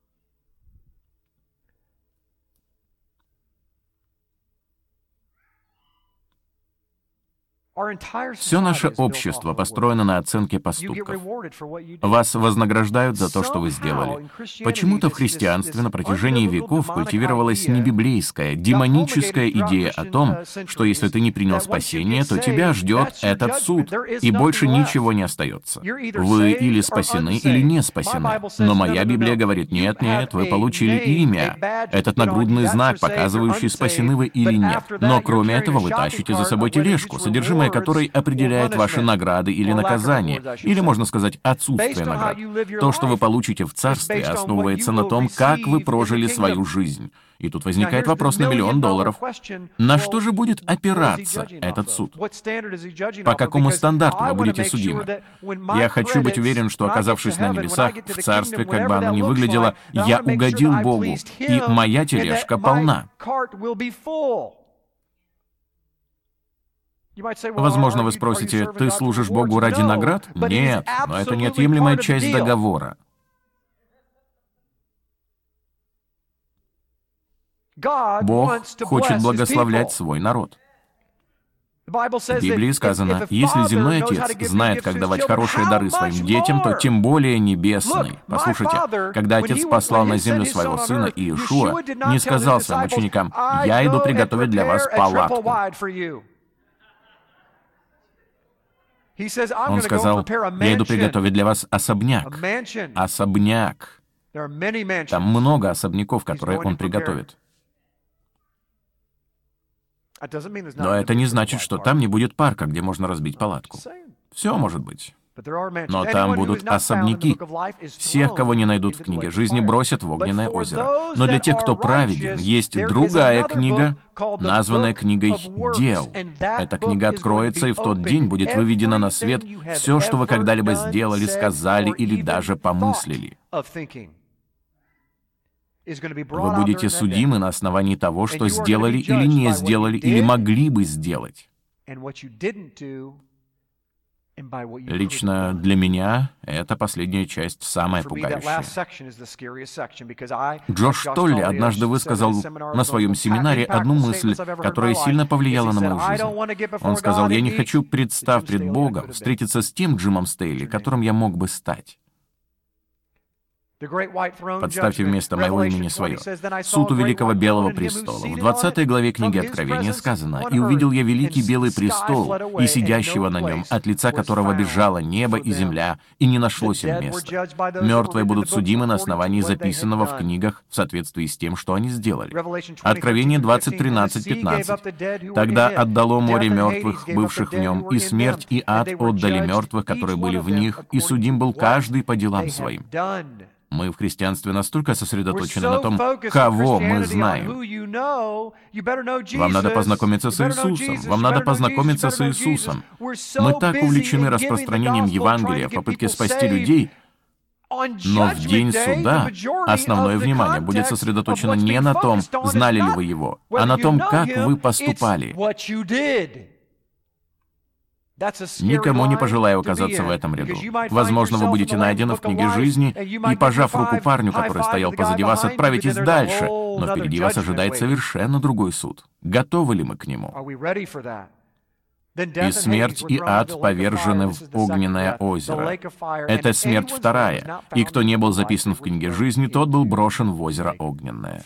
Все наше общество построено на оценке поступков. Вас вознаграждают за то, что вы сделали. Почему-то в христианстве на протяжении веков культивировалась небиблейская, демоническая идея о том, что если ты не принял спасение, то тебя ждет этот суд, и больше ничего не остается. Вы или спасены, или не спасены. Но моя Библия говорит: нет, нет, вы получили имя. Этот нагрудный знак, показывающий, спасены вы или нет. Но кроме этого вы тащите за собой тележку, содержимое который определяет ваши награды или наказания, или, можно сказать, отсутствие наград. То, что вы получите в Царстве, основывается на том, как вы прожили свою жизнь. И тут возникает вопрос на миллион долларов. На что же будет опираться этот суд? По какому стандарту вы будете судимы? Я хочу быть уверен, что, оказавшись на небесах, в Царстве, как бы оно ни выглядело, я угодил Богу, и моя тележка полна. Возможно, вы спросите: ты служишь Богу ради наград? Нет, но это неотъемлемая часть договора. Бог хочет благословлять свой народ. В Библии сказано: если земной отец знает, как давать хорошие дары своим детям, то тем более небесный. Послушайте, когда отец послал на землю своего сына Иешуа, не сказал своим ученикам: «Я иду приготовить для вас палатку». Он сказал: «Я иду приготовить для вас особняк». Особняк. Там много особняков, которые он приготовит. Но это не значит, что там не будет парка, где можно разбить палатку. Все может быть. Но там будут особняки. Всех, кого не найдут в книге жизни, бросят в огненное озеро. Но для тех, кто праведен, есть другая книга, названная книгой дел. Эта книга откроется, и в тот день будет выведено на свет все, что вы когда-либо сделали, сказали или даже помыслили. Вы будете судимы на основании того, что сделали или не сделали, или могли бы сделать. Лично для меня эта последняя часть самая пугающая. Джош Толли однажды высказал на своем семинаре одну мысль, которая сильно повлияла на мою жизнь. Он сказал: «Я не хочу, представ пред Богом, встретиться с тем Джимом Стейли, которым я мог бы стать». Подставьте вместо моего имени свое. Суд у Великого Белого престола. В двадцатой главе книги Откровения сказано: «И увидел я великий белый престол, и сидящего на нем, от лица которого бежало небо и земля, и не нашлось им места. Мертвые будут судимы на основании записанного в книгах в соответствии с тем, что они сделали». Откровение двадцать, тринадцать, пятнадцать. «Тогда отдало море мертвых, бывших в нем, и смерть и ад отдали мертвых, которые были в них, и судим был каждый по делам своим». Мы в христианстве настолько сосредоточены на том, кого мы знаем. Вам надо познакомиться с Иисусом. Вам надо познакомиться с Иисусом. Мы так увлечены распространением Евангелия в попытке спасти людей, но в день суда основное внимание будет сосредоточено не на том, знали ли вы Его, а на том, как вы поступали. Никому не пожелаю оказаться в этом ряду. Возможно, вы будете найдены в книге жизни, и, пожав руку парню, который стоял позади вас, отправитесь дальше, но впереди вас ожидает совершенно другой суд. Готовы ли мы к нему? «И смерть, и ад повержены в огненное озеро». Это смерть вторая, и кто не был записан в книге жизни, тот был брошен в озеро огненное.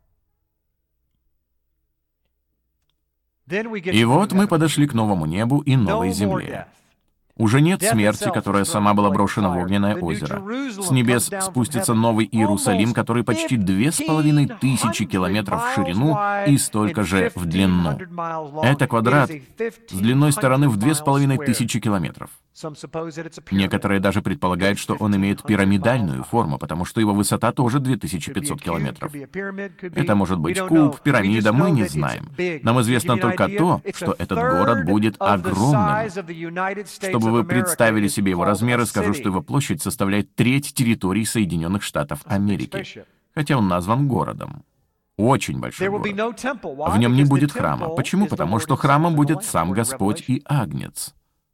И вот мы подошли к новому небу и новой земле. Уже нет смерти, которая сама была брошена в огненное озеро. С небес спустится новый Иерусалим, который почти две с половиной тысячи километров в ширину и столько же в длину. Это квадрат с длиной стороны в две с половиной тысячи километров. Некоторые даже предполагают, что он имеет пирамидальную форму, потому что его высота тоже две тысячи пятьсот километров. Это может быть куб, пирамида, мы не знаем. Нам известно только то, что этот город будет огромным. Чтобы вы представили себе его размеры, скажу, что его площадь составляет треть территории Соединенных Штатов Америки, хотя он назван городом. Очень большой город. В нем не будет храма. Почему? Потому что храмом будет сам Господь и Агнец.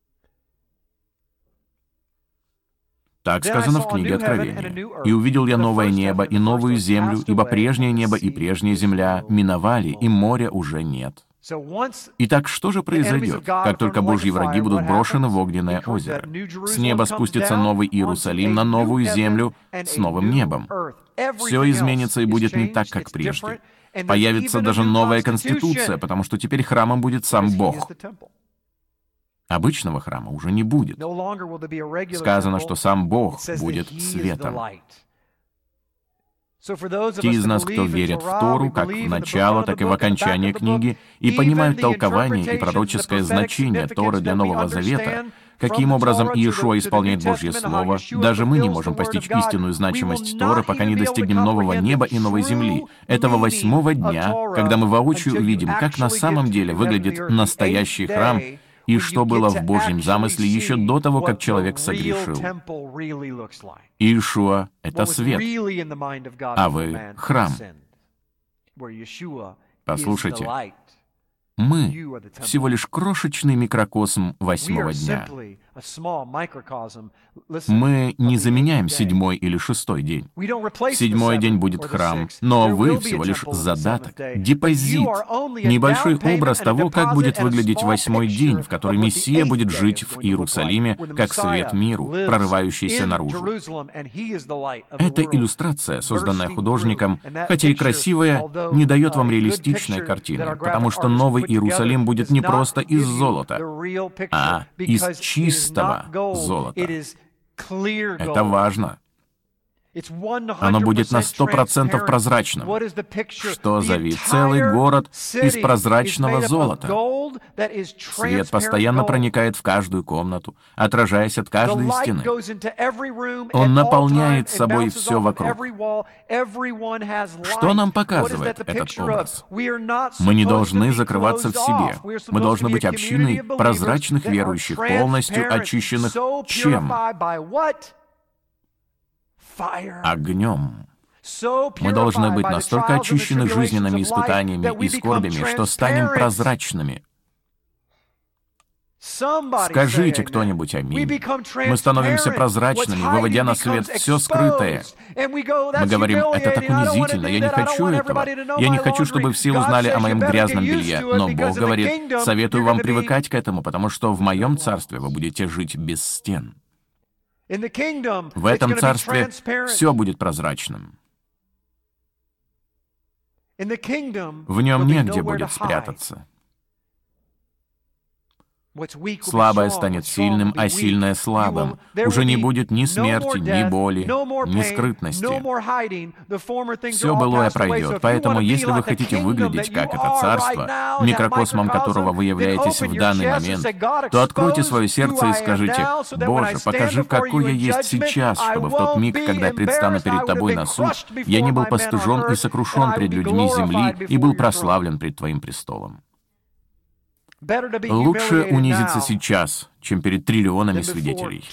Так сказано в книге Откровения. «И увидел я новое небо и новую землю, ибо прежнее небо и прежняя земля миновали, и моря уже нет». Итак, что же произойдет, как только Божьи враги будут брошены в огненное озеро? С неба спустится новый Иерусалим на новую землю с новым небом. Все изменится и будет не так, как прежде. Появится даже новая конституция, потому что теперь храмом будет сам Бог. Обычного храма уже не будет. Сказано, что сам Бог будет светом. Те из нас, кто верит в Тору, как в начало, так и в окончание книги, и понимают толкование и пророческое значение Торы для Нового Завета, каким образом Иешуа исполняет Божье Слово, даже мы не можем постичь истинную значимость Торы, пока не достигнем нового неба и новой земли, этого восьмого дня, когда мы воочию увидим, как на самом деле выглядит настоящий храм, и что было в Божьем замысле еще до того, как человек согрешил. Иешуа — это свет, а вы — храм. Послушайте, мы всего лишь крошечный микрокосм восьмого дня. Мы не заменяем седьмой или шестой день. Седьмой день будет храм, но вы всего лишь задаток, депозит, небольшой образ того, как будет выглядеть восьмой день, в который Мессия будет жить в Иерусалиме, как свет миру, прорывающийся наружу. Эта иллюстрация, созданная художником, хотя и красивая, не дает вам реалистичной картины, потому что новый Иерусалим будет не просто из золота, а из чистого золота. Это важно. Оно будет на сто процентов прозрачным. Что за вид? Целый город из прозрачного золота. Свет постоянно проникает в каждую комнату, отражаясь от каждой стены. Он наполняет собой все вокруг. Что нам показывает этот образ? Мы не должны закрываться в себе. Мы должны быть общиной прозрачных верующих, полностью очищенных чем? Огнем. Мы должны быть настолько очищены жизненными испытаниями и скорбями, что станем прозрачными. Скажите кто-нибудь аминь. Мы становимся прозрачными, выводя на свет все скрытое. Мы говорим, это так унизительно, я не хочу этого. Я не хочу, чтобы все узнали о моем грязном белье. Но Бог говорит, советую вам привыкать к этому, потому что в моем царстве вы будете жить без стен. В этом царстве все будет прозрачным. В нем негде будет спрятаться. Слабое станет сильным, а сильное — слабым. Уже не будет ни смерти, ни боли, ни скрытности. Все былое пройдет. Поэтому, если вы хотите выглядеть как это царство, микрокосмом которого вы являетесь в данный момент, то откройте свое сердце и скажите: «Боже, покажи, какой я есть сейчас, чтобы в тот миг, когда я предстану перед Тобой на суд, я не был постыжен и сокрушен пред людьми земли и был прославлен пред Твоим престолом». Лучше унизиться сейчас, чем перед триллионами свидетелей.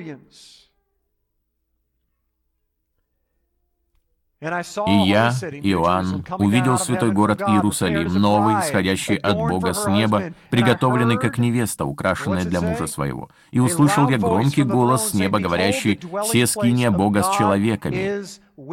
И я, Иоанн, увидел святой город Иерусалим, новый, исходящий от Бога с неба, приготовленный как невеста, украшенная для мужа своего. И услышал я громкий голос с неба, говорящий: «Се скиния Бога с человеками».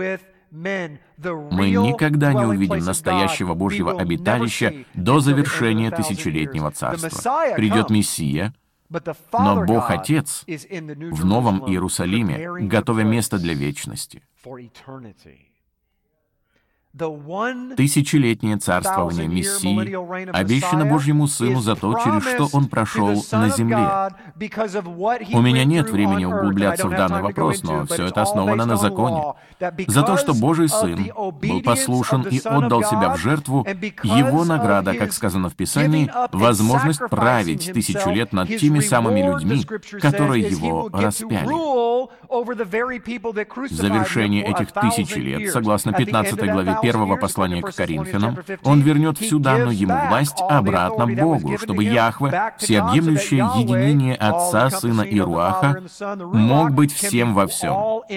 Мы никогда не увидим настоящего Божьего обиталища до завершения тысячелетнего царства. Придет Мессия, но Бог Отец в Новом Иерусалиме, готовя место для вечности. Тысячелетнее царствование Мессии обещано Божьему Сыну за то, через что Он прошел на земле. У меня нет времени углубляться в данный вопрос, но все это основано на законе. За то, что Божий Сын был послушен и отдал себя в жертву, Его награда, как сказано в Писании, возможность править тысячу лет над теми самыми людьми, которые Его распяли. В завершении этих тысячи лет, согласно пятнадцатой главе первого послания к Коринфянам, Он вернет всю данную Ему власть обратно Богу, чтобы Яхве, всеобъемлющее единение Отца, Сына и Руаха, мог быть всем во всем.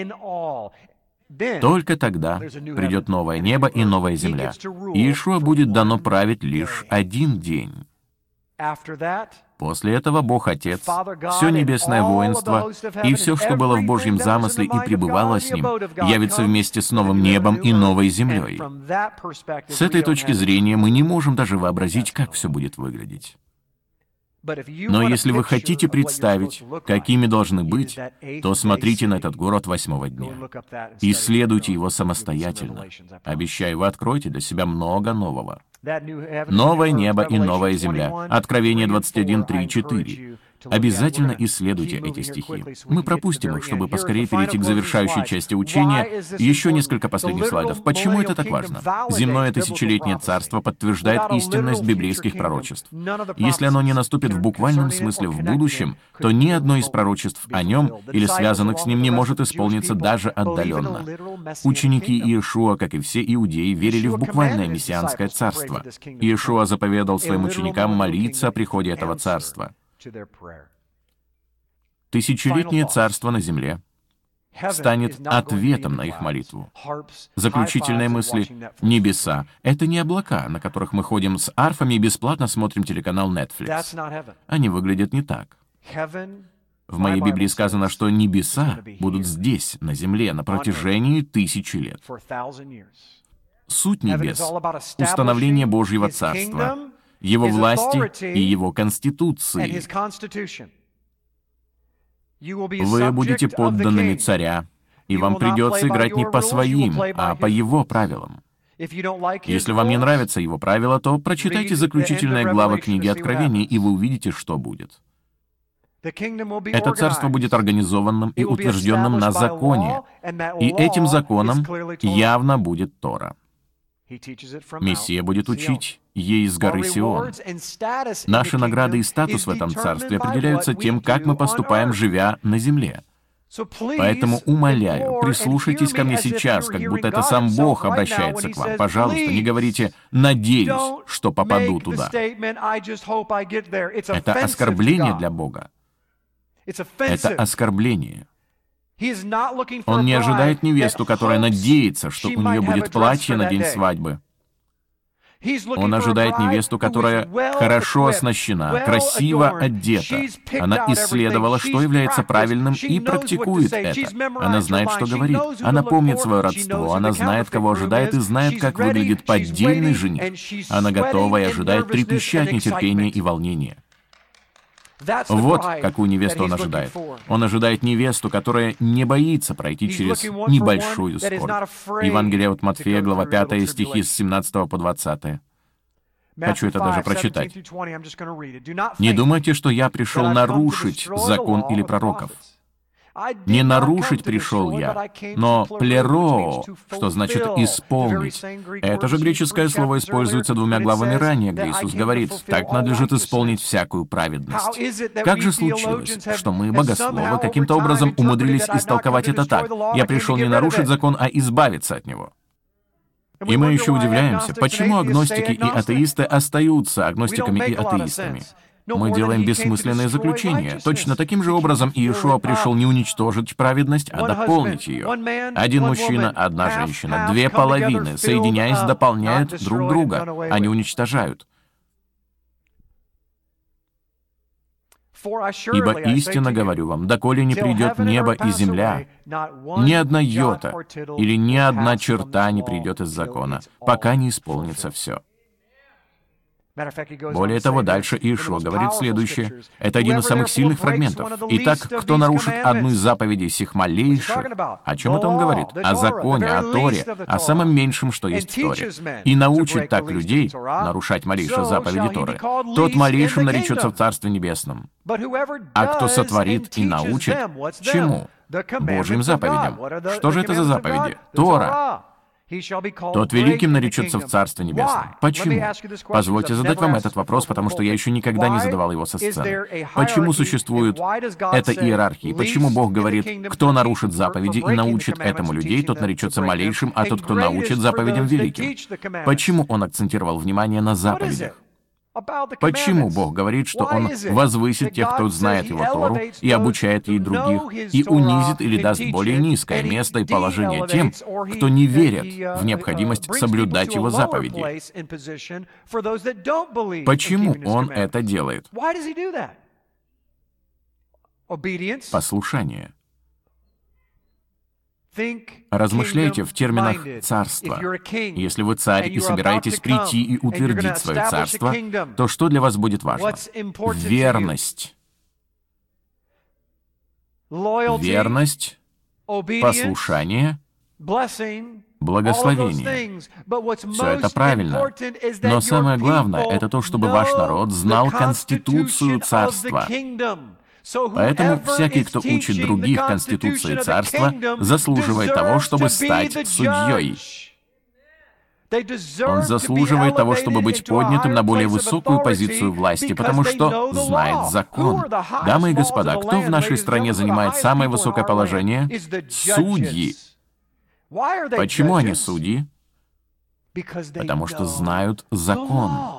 Только тогда придет новое небо и новая земля. Иешуа будет дано править лишь один день. После этого Бог Отец, все небесное воинство и все, что было в Божьем замысле и пребывало с Ним, явится вместе с новым небом и новой землей. С этой точки зрения мы не можем даже вообразить, как все будет выглядеть. Но если вы хотите представить, какими должны быть, то смотрите на этот город восьмого дня. Исследуйте его самостоятельно. Обещаю, вы откроете для себя много нового. Новое небо и новая земля. Откровение двадцать один, три, четыре. Обязательно исследуйте эти стихи. Мы пропустим их, чтобы поскорее перейти к завершающей части учения. Еще несколько последних слайдов. Почему это так важно? Земное тысячелетнее царство подтверждает истинность библейских пророчеств. Если оно не наступит в буквальном смысле в будущем, то ни одно из пророчеств о нем или связанных с ним не может исполниться даже отдаленно. Ученики Иешуа, как и все иудеи, верили в буквальное мессианское царство. Иешуа заповедал своим ученикам молиться о приходе этого царства. Тысячелетнее царство на земле станет ответом на их молитву. Заключительные мысли. Небеса — это не облака, на которых мы ходим с арфами и бесплатно смотрим телеканал Netflix. Они выглядят не так. В моей Библии сказано, что небеса будут здесь, на земле, на протяжении тысячи лет. Суть небес — установление Божьего царства, Его власти и Его конституции. Вы будете подданными царя, и вам придется играть не по своим, а по Его правилам. Если вам не нравятся Его правила, то прочитайте заключительные главы книги Откровений, и вы увидите, что будет. Это царство будет организованным и утвержденным на законе, и этим законом явно будет Тора. Мессия будет учить ей с горы Сион. Наши награды и статус в этом царстве определяются тем, как мы поступаем, живя на земле. Поэтому умоляю, прислушайтесь ко мне сейчас, как будто это сам Бог обращается к вам. Пожалуйста, не говорите «надеюсь, что попаду туда». Это оскорбление для Бога. Это оскорбление. Он не ожидает невесту, которая надеется, что у нее будет платье на день свадьбы. Он ожидает невесту, которая хорошо оснащена, красиво одета. Она исследовала, что является правильным, и практикует это. Она знает, что говорит. Она помнит свое родство. Она знает, кого ожидает, и знает, как выглядит поддельный жених. Она готова и ожидает, трепеща от нетерпения и волнения. Вот какую невесту он ожидает. Он ожидает невесту, которая не боится пройти через небольшую скорбь. Евангелие от Матфея, глава пятая, стихи с семнадцатого по двадцатый. Хочу это даже прочитать. «Не думайте, что я пришел нарушить закон или пророков. Не нарушить пришел я, но плеро, что значит исполнить. Это же греческое слово используется двумя главами ранее, где Иисус говорит: «Так надлежит исполнить всякую праведность». Как же случилось, что мы, богословы, каким-то образом умудрились истолковать это так: «Я пришел не нарушить закон, а избавиться от него». И мы еще удивляемся, почему агностики и атеисты остаются агностиками и атеистами. Мы делаем бессмысленные заключения. Точно таким же образом Иешуа пришел не уничтожить праведность, а дополнить ее. Один мужчина, одна женщина, две половины, соединяясь, дополняют друг друга, а не уничтожают. Ибо истинно говорю вам, доколе не придет небо и земля, ни одна йота или ни одна черта не придет из закона, пока не исполнится все. Более того, дальше Иешуа говорит следующее. Это один из самых сильных фрагментов. Итак, кто нарушит одну из заповедей сих малейших, о чем это он говорит? О законе, о Торе, о самом меньшем, что есть в Торе. И научит так людей нарушать малейшие заповеди Торы. Тот малейшим наречется в Царстве Небесном. А кто сотворит и научит, чему? Божьим заповедям. Что же это за заповеди? Тора. Тот великим наречется в Царстве Небесном. Почему? Позвольте задать вам этот вопрос, потому что я еще никогда не задавал его со сцены. Почему существует эта иерархия? Почему Бог говорит: кто нарушит заповеди и научит этому людей, тот наречется малейшим, а тот, кто научит заповедям, великим? Почему Он акцентировал внимание на заповедях? Почему Бог говорит, что Он возвысит тех, кто знает Его Тору, и обучает ей других, и унизит или даст более низкое место и положение тем, кто не верит в необходимость соблюдать Его заповеди? Почему Он это делает? Послушание. Размышляйте в терминах царства. Если вы царь и собираетесь прийти и утвердить свое царство, то что для вас будет важно? Верность. Верность, послушание, благословение. Все это правильно. Но самое главное — это то, чтобы ваш народ знал конституцию царства. Поэтому всякий, кто учит других Конституции Царства, заслуживает того, чтобы стать судьей. Он заслуживает того, чтобы быть поднятым на более высокую позицию власти, потому что знает закон. Дамы и господа, кто в нашей стране занимает самое высокое положение? Судьи. Почему они судьи? Потому что знают закон.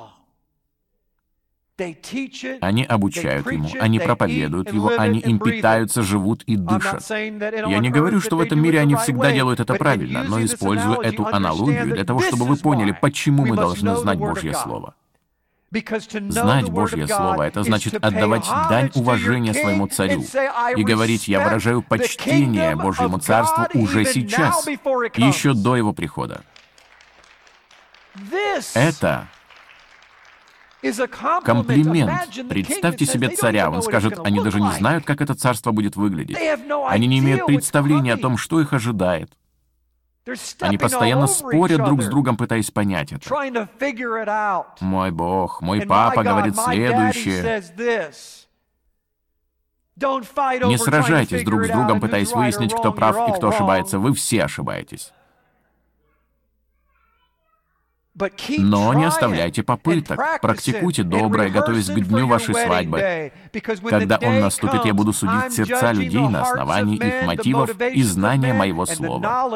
Они обучают ему, они проповедуют его, они им питаются, живут и дышат. Я не говорю, что в этом мире они всегда делают это правильно, но использую эту аналогию для того, чтобы вы поняли, почему мы должны знать Божье Слово. Знать Божье Слово — это значит отдавать дань уважения своему царю и говорить: «Я выражаю почтение Божьему Царству уже сейчас, еще до его прихода». Это комплимент. Представьте себе царя. Он скажет: они даже не знают, как это царство будет выглядеть. Они не имеют представления о том, что их ожидает. Они постоянно спорят друг с другом, пытаясь понять это. Мой Бог, мой папа говорит следующее. Не сражайтесь друг с другом, пытаясь выяснить, кто прав и кто ошибается. Вы все ошибаетесь. Но не оставляйте попыток. Практикуйте доброе, готовясь к дню вашей свадьбы. Когда он наступит, я буду судить сердца людей на основании их мотивов и знания моего слова.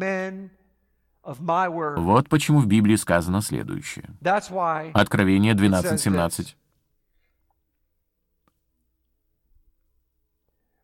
Вот почему в Библии сказано следующее. Откровение двенадцать семнадцать.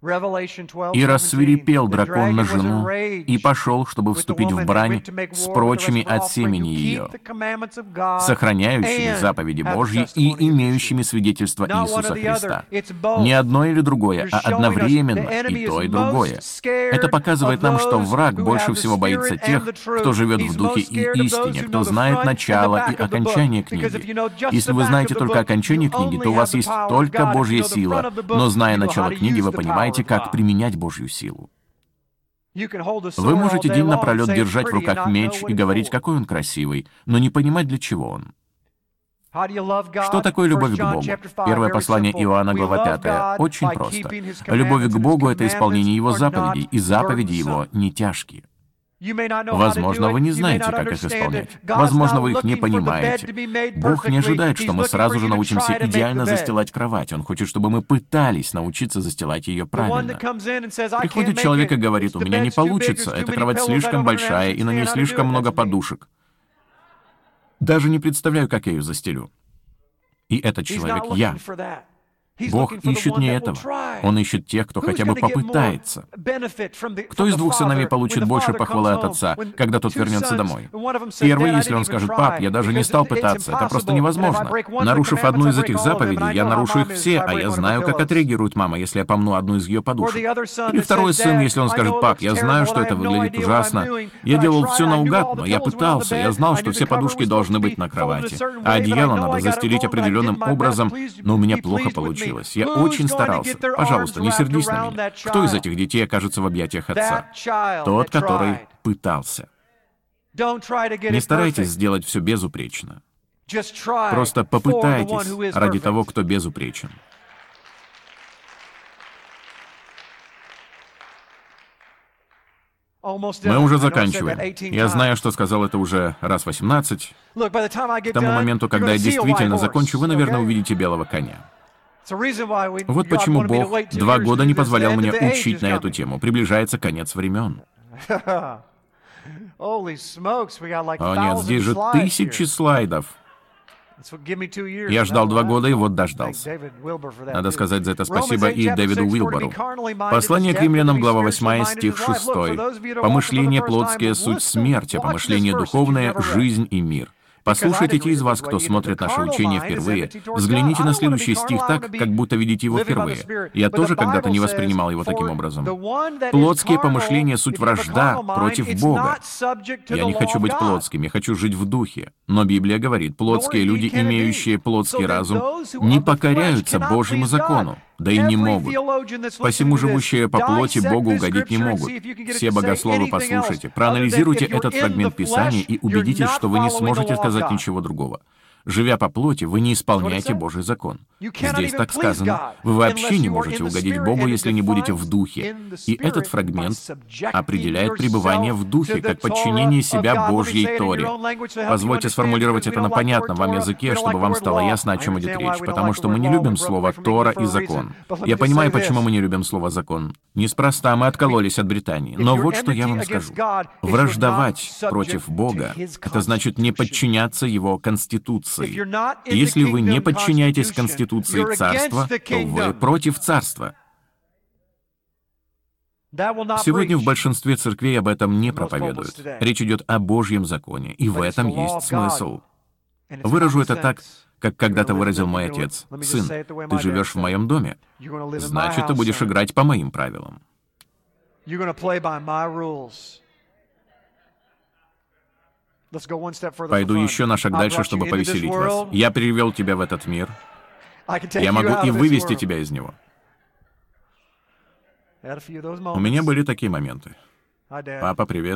И рассвирепел дракон на жену, и пошел, чтобы вступить в брань с прочими от семени ее, сохраняющими заповеди Божьи и имеющими свидетельство Иисуса Христа. Не одно или другое, а одновременно и то, и другое. Это показывает нам, что враг больше всего боится тех, кто живет в духе и истине, кто знает начало и окончание книги. Если вы знаете только окончание книги, то у вас есть только Божья сила, но зная начало книги, вы понимаете, как применять Божью силу. Вы можете день напролет держать в руках меч и говорить, какой он красивый, но не понимать, для чего он. Что такое любовь к Богу? Первое послание Иоанна, глава пятая. Очень просто. Любовь к Богу — это исполнение Его заповедей, и заповеди Его не тяжкие. Возможно, вы не знаете, как их исполнять. Возможно, вы их не понимаете. Бог не ожидает, что мы сразу же научимся идеально застилать кровать. Он хочет, чтобы мы пытались научиться застилать ее правильно. Приходит человек и говорит: «У меня не получится, эта кровать слишком большая, и на ней слишком много подушек. Даже не представляю, как я ее застелю». И этот человек — я. Бог ищет не этого. Он ищет тех, кто хотя бы попытается. Кто из двух сыновей получит больше похвалы от отца, когда тот вернется домой? Первый, если он скажет: «Пап, я даже не стал пытаться, это просто невозможно. Нарушив одну из этих заповедей, я нарушу их все, а я знаю, как отреагирует мама, если я помну одну из ее подушек». Или второй сын, если он скажет: «Пап, я знаю, что это выглядит ужасно. Я делал все наугад, но я пытался, я знал, что все подушки должны быть на кровати, а одеяло надо застелить определенным образом, но у меня плохо получилось. Я очень старался. Пожалуйста, не сердись на меня. Кто из этих детей окажется в объятиях отца? Тот, который пытался. Не старайтесь сделать все безупречно. Просто попытайтесь ради того, кто безупречен. Мы уже заканчиваем. Я знаю, что сказал это уже раз восемнадцать. К тому моменту, когда я действительно закончу, вы, наверное, увидите белого коня. Вот почему Бог два года не позволял мне учить на эту тему. Приближается конец времен. О нет, здесь же тысячи слайдов. Я ждал два года и вот дождался. Надо сказать за это спасибо и Дэвиду Уилбору. Послание к римлянам, глава восьмая, стих шестой. «Помышление плотские — суть смерть, а помышление духовное — жизнь и мир». Послушайте те из вас, кто смотрит наше учение впервые, взгляните на следующий стих так, как будто видите его впервые. Я тоже когда-то не воспринимал его таким образом. Плотские помышления — суть вражда против Бога. Я не хочу быть плотским, я хочу жить в духе. Но Библия говорит, плотские люди, имеющие плотский разум, не покоряются Божьему закону. Да и не могут. Посему живущие по плоти Богу угодить не могут. Все богословы, послушайте, проанализируйте этот фрагмент Писания и убедитесь, что вы не сможете сказать ничего другого. Живя по плоти, вы не исполняете Божий закон. Здесь так сказано. Вы вообще не можете угодить Богу, если не будете в духе. И этот фрагмент определяет пребывание в духе, как подчинение себя Божьей Торе. Позвольте сформулировать это на понятном вам языке, чтобы вам стало ясно, о чем идет речь, потому что мы не любим слово «Тора» и «закон». Я понимаю, почему мы не любим слово «закон». Неспроста мы откололись от Британии. Но вот что я вам скажу. Враждовать против Бога — это значит не подчиняться Его Конституции. Если вы не подчиняетесь Конституции Царства, то вы против Царства. Сегодня в большинстве церквей об этом не проповедуют. Речь идет о Божьем законе, и в этом есть смысл. Выражу это так, как когда-то выразил мой отец. «Сын, ты живешь в моем доме, значит, ты будешь играть по моим правилам». Пойду еще на шаг дальше, чтобы повеселить вас. Я привел тебя в этот мир. Я могу и вывести тебя из него. У меня были такие моменты. Папа, привет.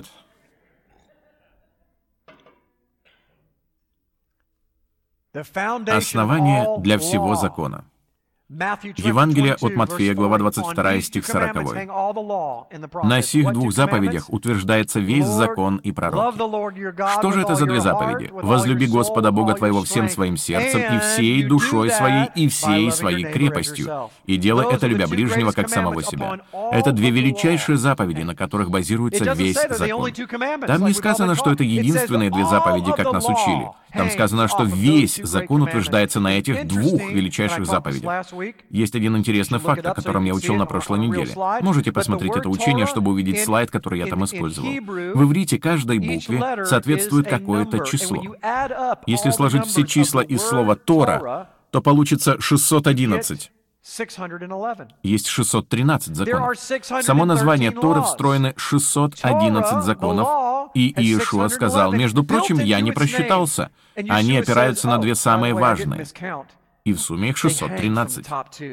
Основание для всего закона. Евангелие от Матфея, глава двадцать вторая, стих сороковой. «На сих двух заповедях утверждается весь закон и пророки». Что же это за две заповеди? «Возлюби Господа Бога твоего всем своим сердцем и всей душой своей и всей своей крепостью, и делай это, любя ближнего, как самого себя». Это две величайшие заповеди, на которых базируется весь закон. Там не сказано, что это единственные две заповеди, как нас учили. Там сказано, что весь закон утверждается на этих двух величайших заповедях. Есть один интересный факт, о котором я учил на прошлой неделе. Можете посмотреть это учение, чтобы увидеть слайд, который я там использовал. В иврите каждой букве соответствует какое-то число. Если сложить все числа из слова «Тора», то получится шестьсот одиннадцать. Есть шестьсот тринадцать законов. В само название Торы встроены шестьсот одиннадцать законов, и Иешуа сказал, между прочим, я не просчитался. Они опираются на две самые важные. И в сумме их шестьсот тринадцать.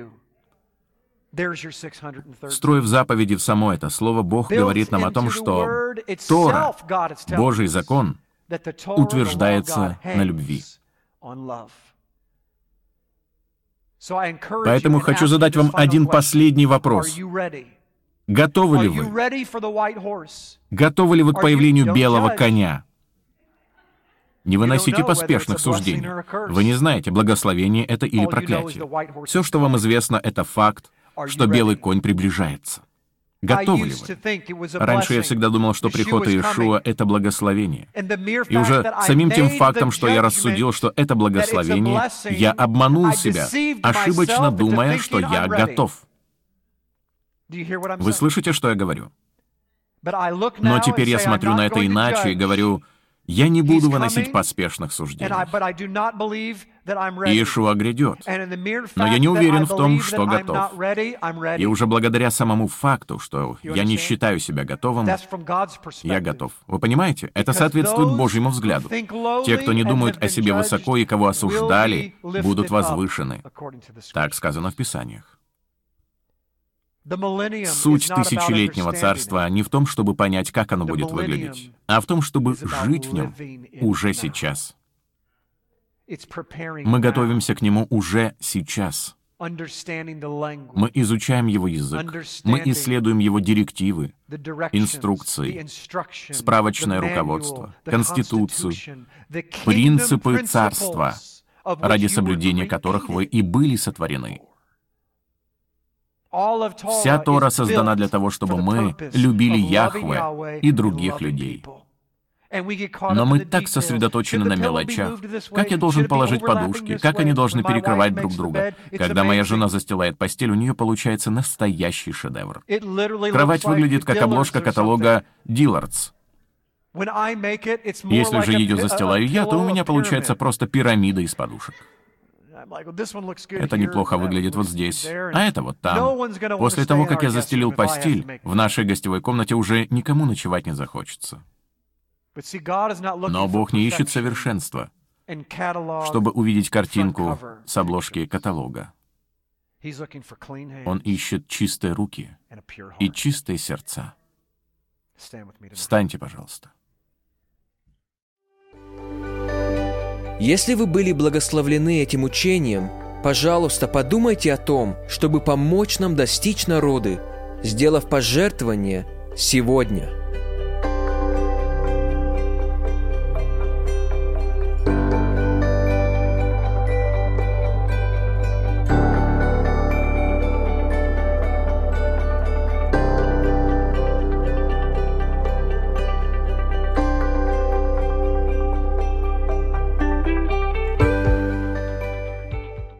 Встроив заповеди в само это слово, Бог говорит нам о том, что Тора, Божий закон, утверждается на любви. Поэтому хочу задать вам один последний вопрос. Готовы ли вы? Готовы ли вы к появлению белого коня? Не выносите поспешных суждений. Вы не знаете, благословение это или проклятие. Все, что вам известно, это факт, что белый конь приближается. Готовы ли вы? Раньше я всегда думал, что приход Иешуа — это благословение. И уже самим тем фактом, что я рассудил, что это благословение, я обманул себя, ошибочно думая, что я готов. Вы слышите, что я говорю? Но теперь я смотрю на это иначе и говорю, я не буду выносить поспешных суждений. Иешуа грядет, но я не уверен в том, что готов. И уже благодаря самому факту, что я не считаю себя готовым, я готов. Вы понимаете? Это соответствует Божьему взгляду. Те, кто не думают о себе высоко и кого осуждали, будут возвышены. Так сказано в Писаниях. Суть тысячелетнего царства не в том, чтобы понять, как оно будет выглядеть, а в том, чтобы жить в нем уже сейчас. Мы готовимся к нему уже сейчас. Мы изучаем его язык, мы исследуем его директивы, инструкции, справочное руководство, конституцию, принципы царства, ради соблюдения которых вы и были сотворены. Вся Тора создана для того, чтобы мы любили Яхве и других людей. Но мы так сосредоточены на мелочах. Как я должен положить подушки, как они должны перекрывать друг друга. Когда моя жена застилает постель, у нее получается настоящий шедевр. Кровать выглядит как обложка каталога «Dillard's». Если же ее застилаю я, то у меня получается просто пирамида из подушек. Это неплохо выглядит вот здесь, а это вот там. После того, как я застелил постель, в нашей гостевой комнате уже никому ночевать не захочется. Но Бог не ищет совершенства, чтобы увидеть картинку с обложки каталога. Он ищет чистые руки и чистые сердца. Встаньте, пожалуйста. Если вы были благословлены этим учением, пожалуйста, подумайте о том, чтобы помочь нам достичь народы, сделав пожертвование сегодня.